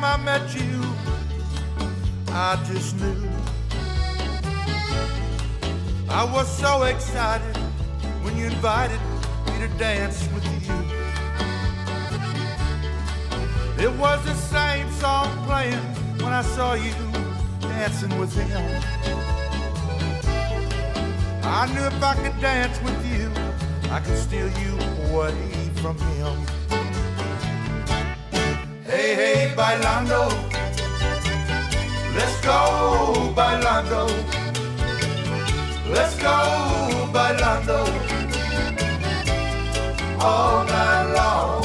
time I met you, I just knew I was so excited when you invited me to dance with you. It was the same song playing when I saw you dancing with him. I knew if I could dance with you, I could steal you away from him. Hey, hey, bailando, let's go, bailando, let's go, bailando, all night long.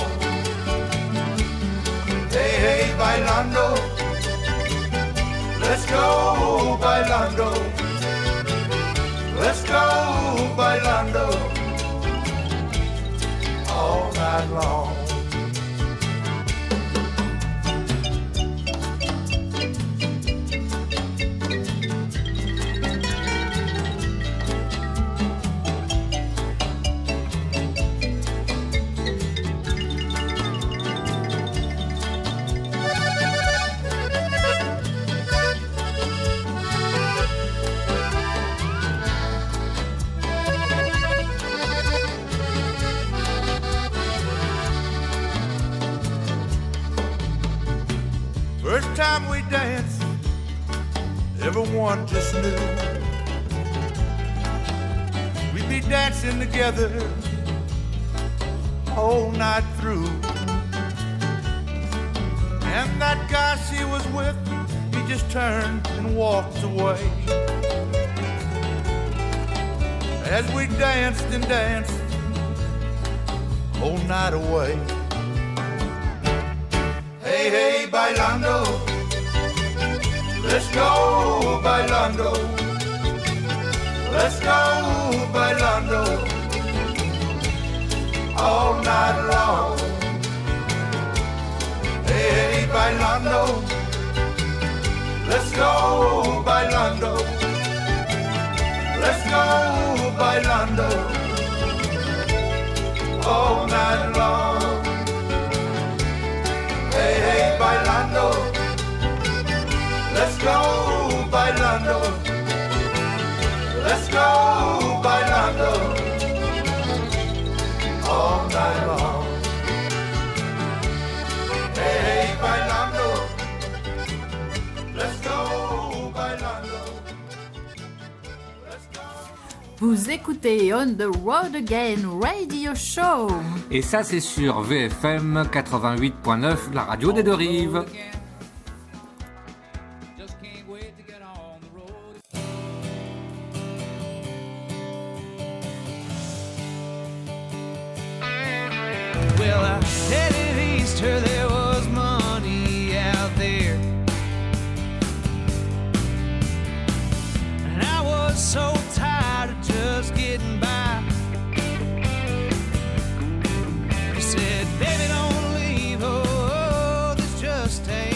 Hey, hey, bailando, let's go, bailando, let's go, bailando, all night long. First time we danced, everyone just knew we'd be dancing together all night through. And that guy she was with, he just turned and walked away. As we danced and danced all night away. Hey, hey, bailando, let's go, bailando, let's go, bailando, all night long. Hey, hey, bailando, let's go, bailando, let's go, bailando, all night long. Hey, hey, bailando, let's go, bailando, let's go, bailando, all night long. Hey, hey, bailando, let's go, bailando. Vous écoutez On the Road Again Radio Show. Et ça, c'est sur V F M quatre-vingt-huit point neuf, la radio des deux rives. Well, I headed east where there was money out there, and I was so tired of just getting by. He said, baby, don't leave, oh, this just ain't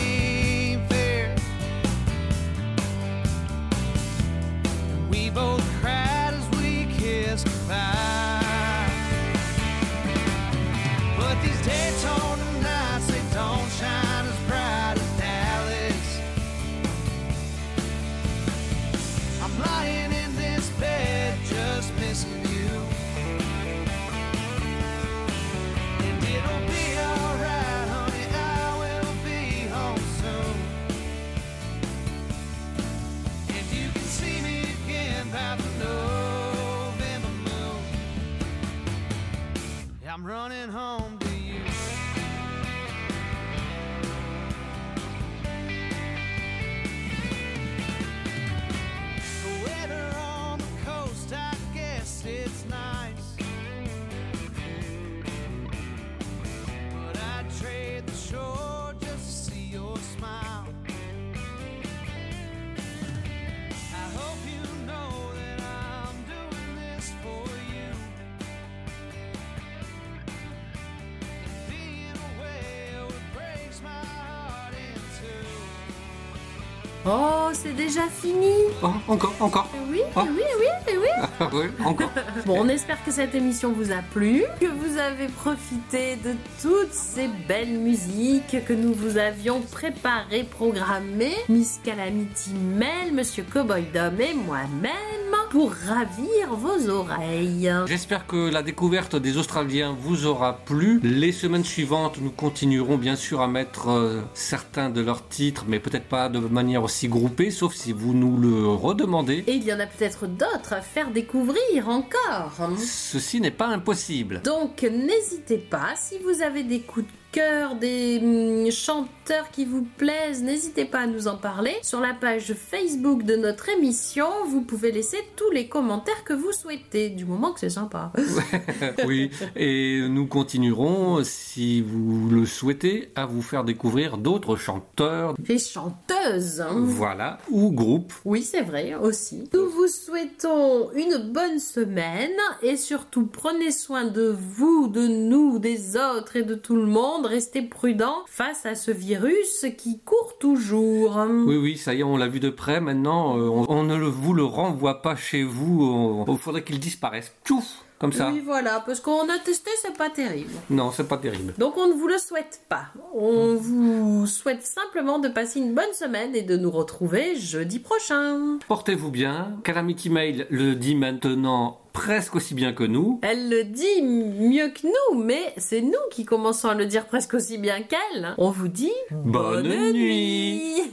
Oh, c'est déjà fini. Oh, encore, encore. Oui, Oh. oui, oui, oui. Oui, encore. Bon, on espère que cette émission vous a plu, que vous avez profité de toutes ces belles musiques que nous vous avions préparées, programmées, Miss Calamity Mel, Monsieur Cowboy Dom et moi-même, pour ravir vos oreilles. J'espère que la découverte des Australiens vous aura plu. Les semaines suivantes, nous continuerons bien sûr à mettre euh, certains de leurs titres, mais peut-être pas de manière aussi groupée, sauf si vous nous le redemandez. Et il y en a peut-être d'autres à faire découvrir encore. Ceci n'est pas impossible. Donc n'hésitez pas, si vous avez des coups de cœur, des hum, chanteurs qui vous plaisent, n'hésitez pas à nous en parler. Sur la page Facebook de notre émission, vous pouvez laisser tous les commentaires que vous souhaitez, du moment que c'est sympa. Oui, et nous continuerons, si vous le souhaitez, à vous faire découvrir d'autres chanteurs. Les chanteuses. Voilà, ou groupes. Oui, c'est vrai, aussi. Nous vous souhaitons une bonne semaine et surtout prenez soin de vous, de nous, des autres et de tout le monde. Restez prudents face à ce virus qui court toujours. Oui, oui, ça y est, on l'a vu de près. Maintenant, euh, on, on ne le, vous le renvoie pas chez vous. Il faudrait qu'il disparaisse. Tchouf, comme ça. Oui, voilà, parce qu'on a testé, c'est pas terrible. Non, c'est pas terrible. Donc on ne vous le souhaite pas. On vous souhaite simplement de passer une bonne semaine et de nous retrouver jeudi prochain. Portez-vous bien. Calamity Mail le dit maintenant presque aussi bien que nous. Elle le dit mieux que nous, mais c'est nous qui commençons à le dire presque aussi bien qu'elle. On vous dit bonne, bonne nuit.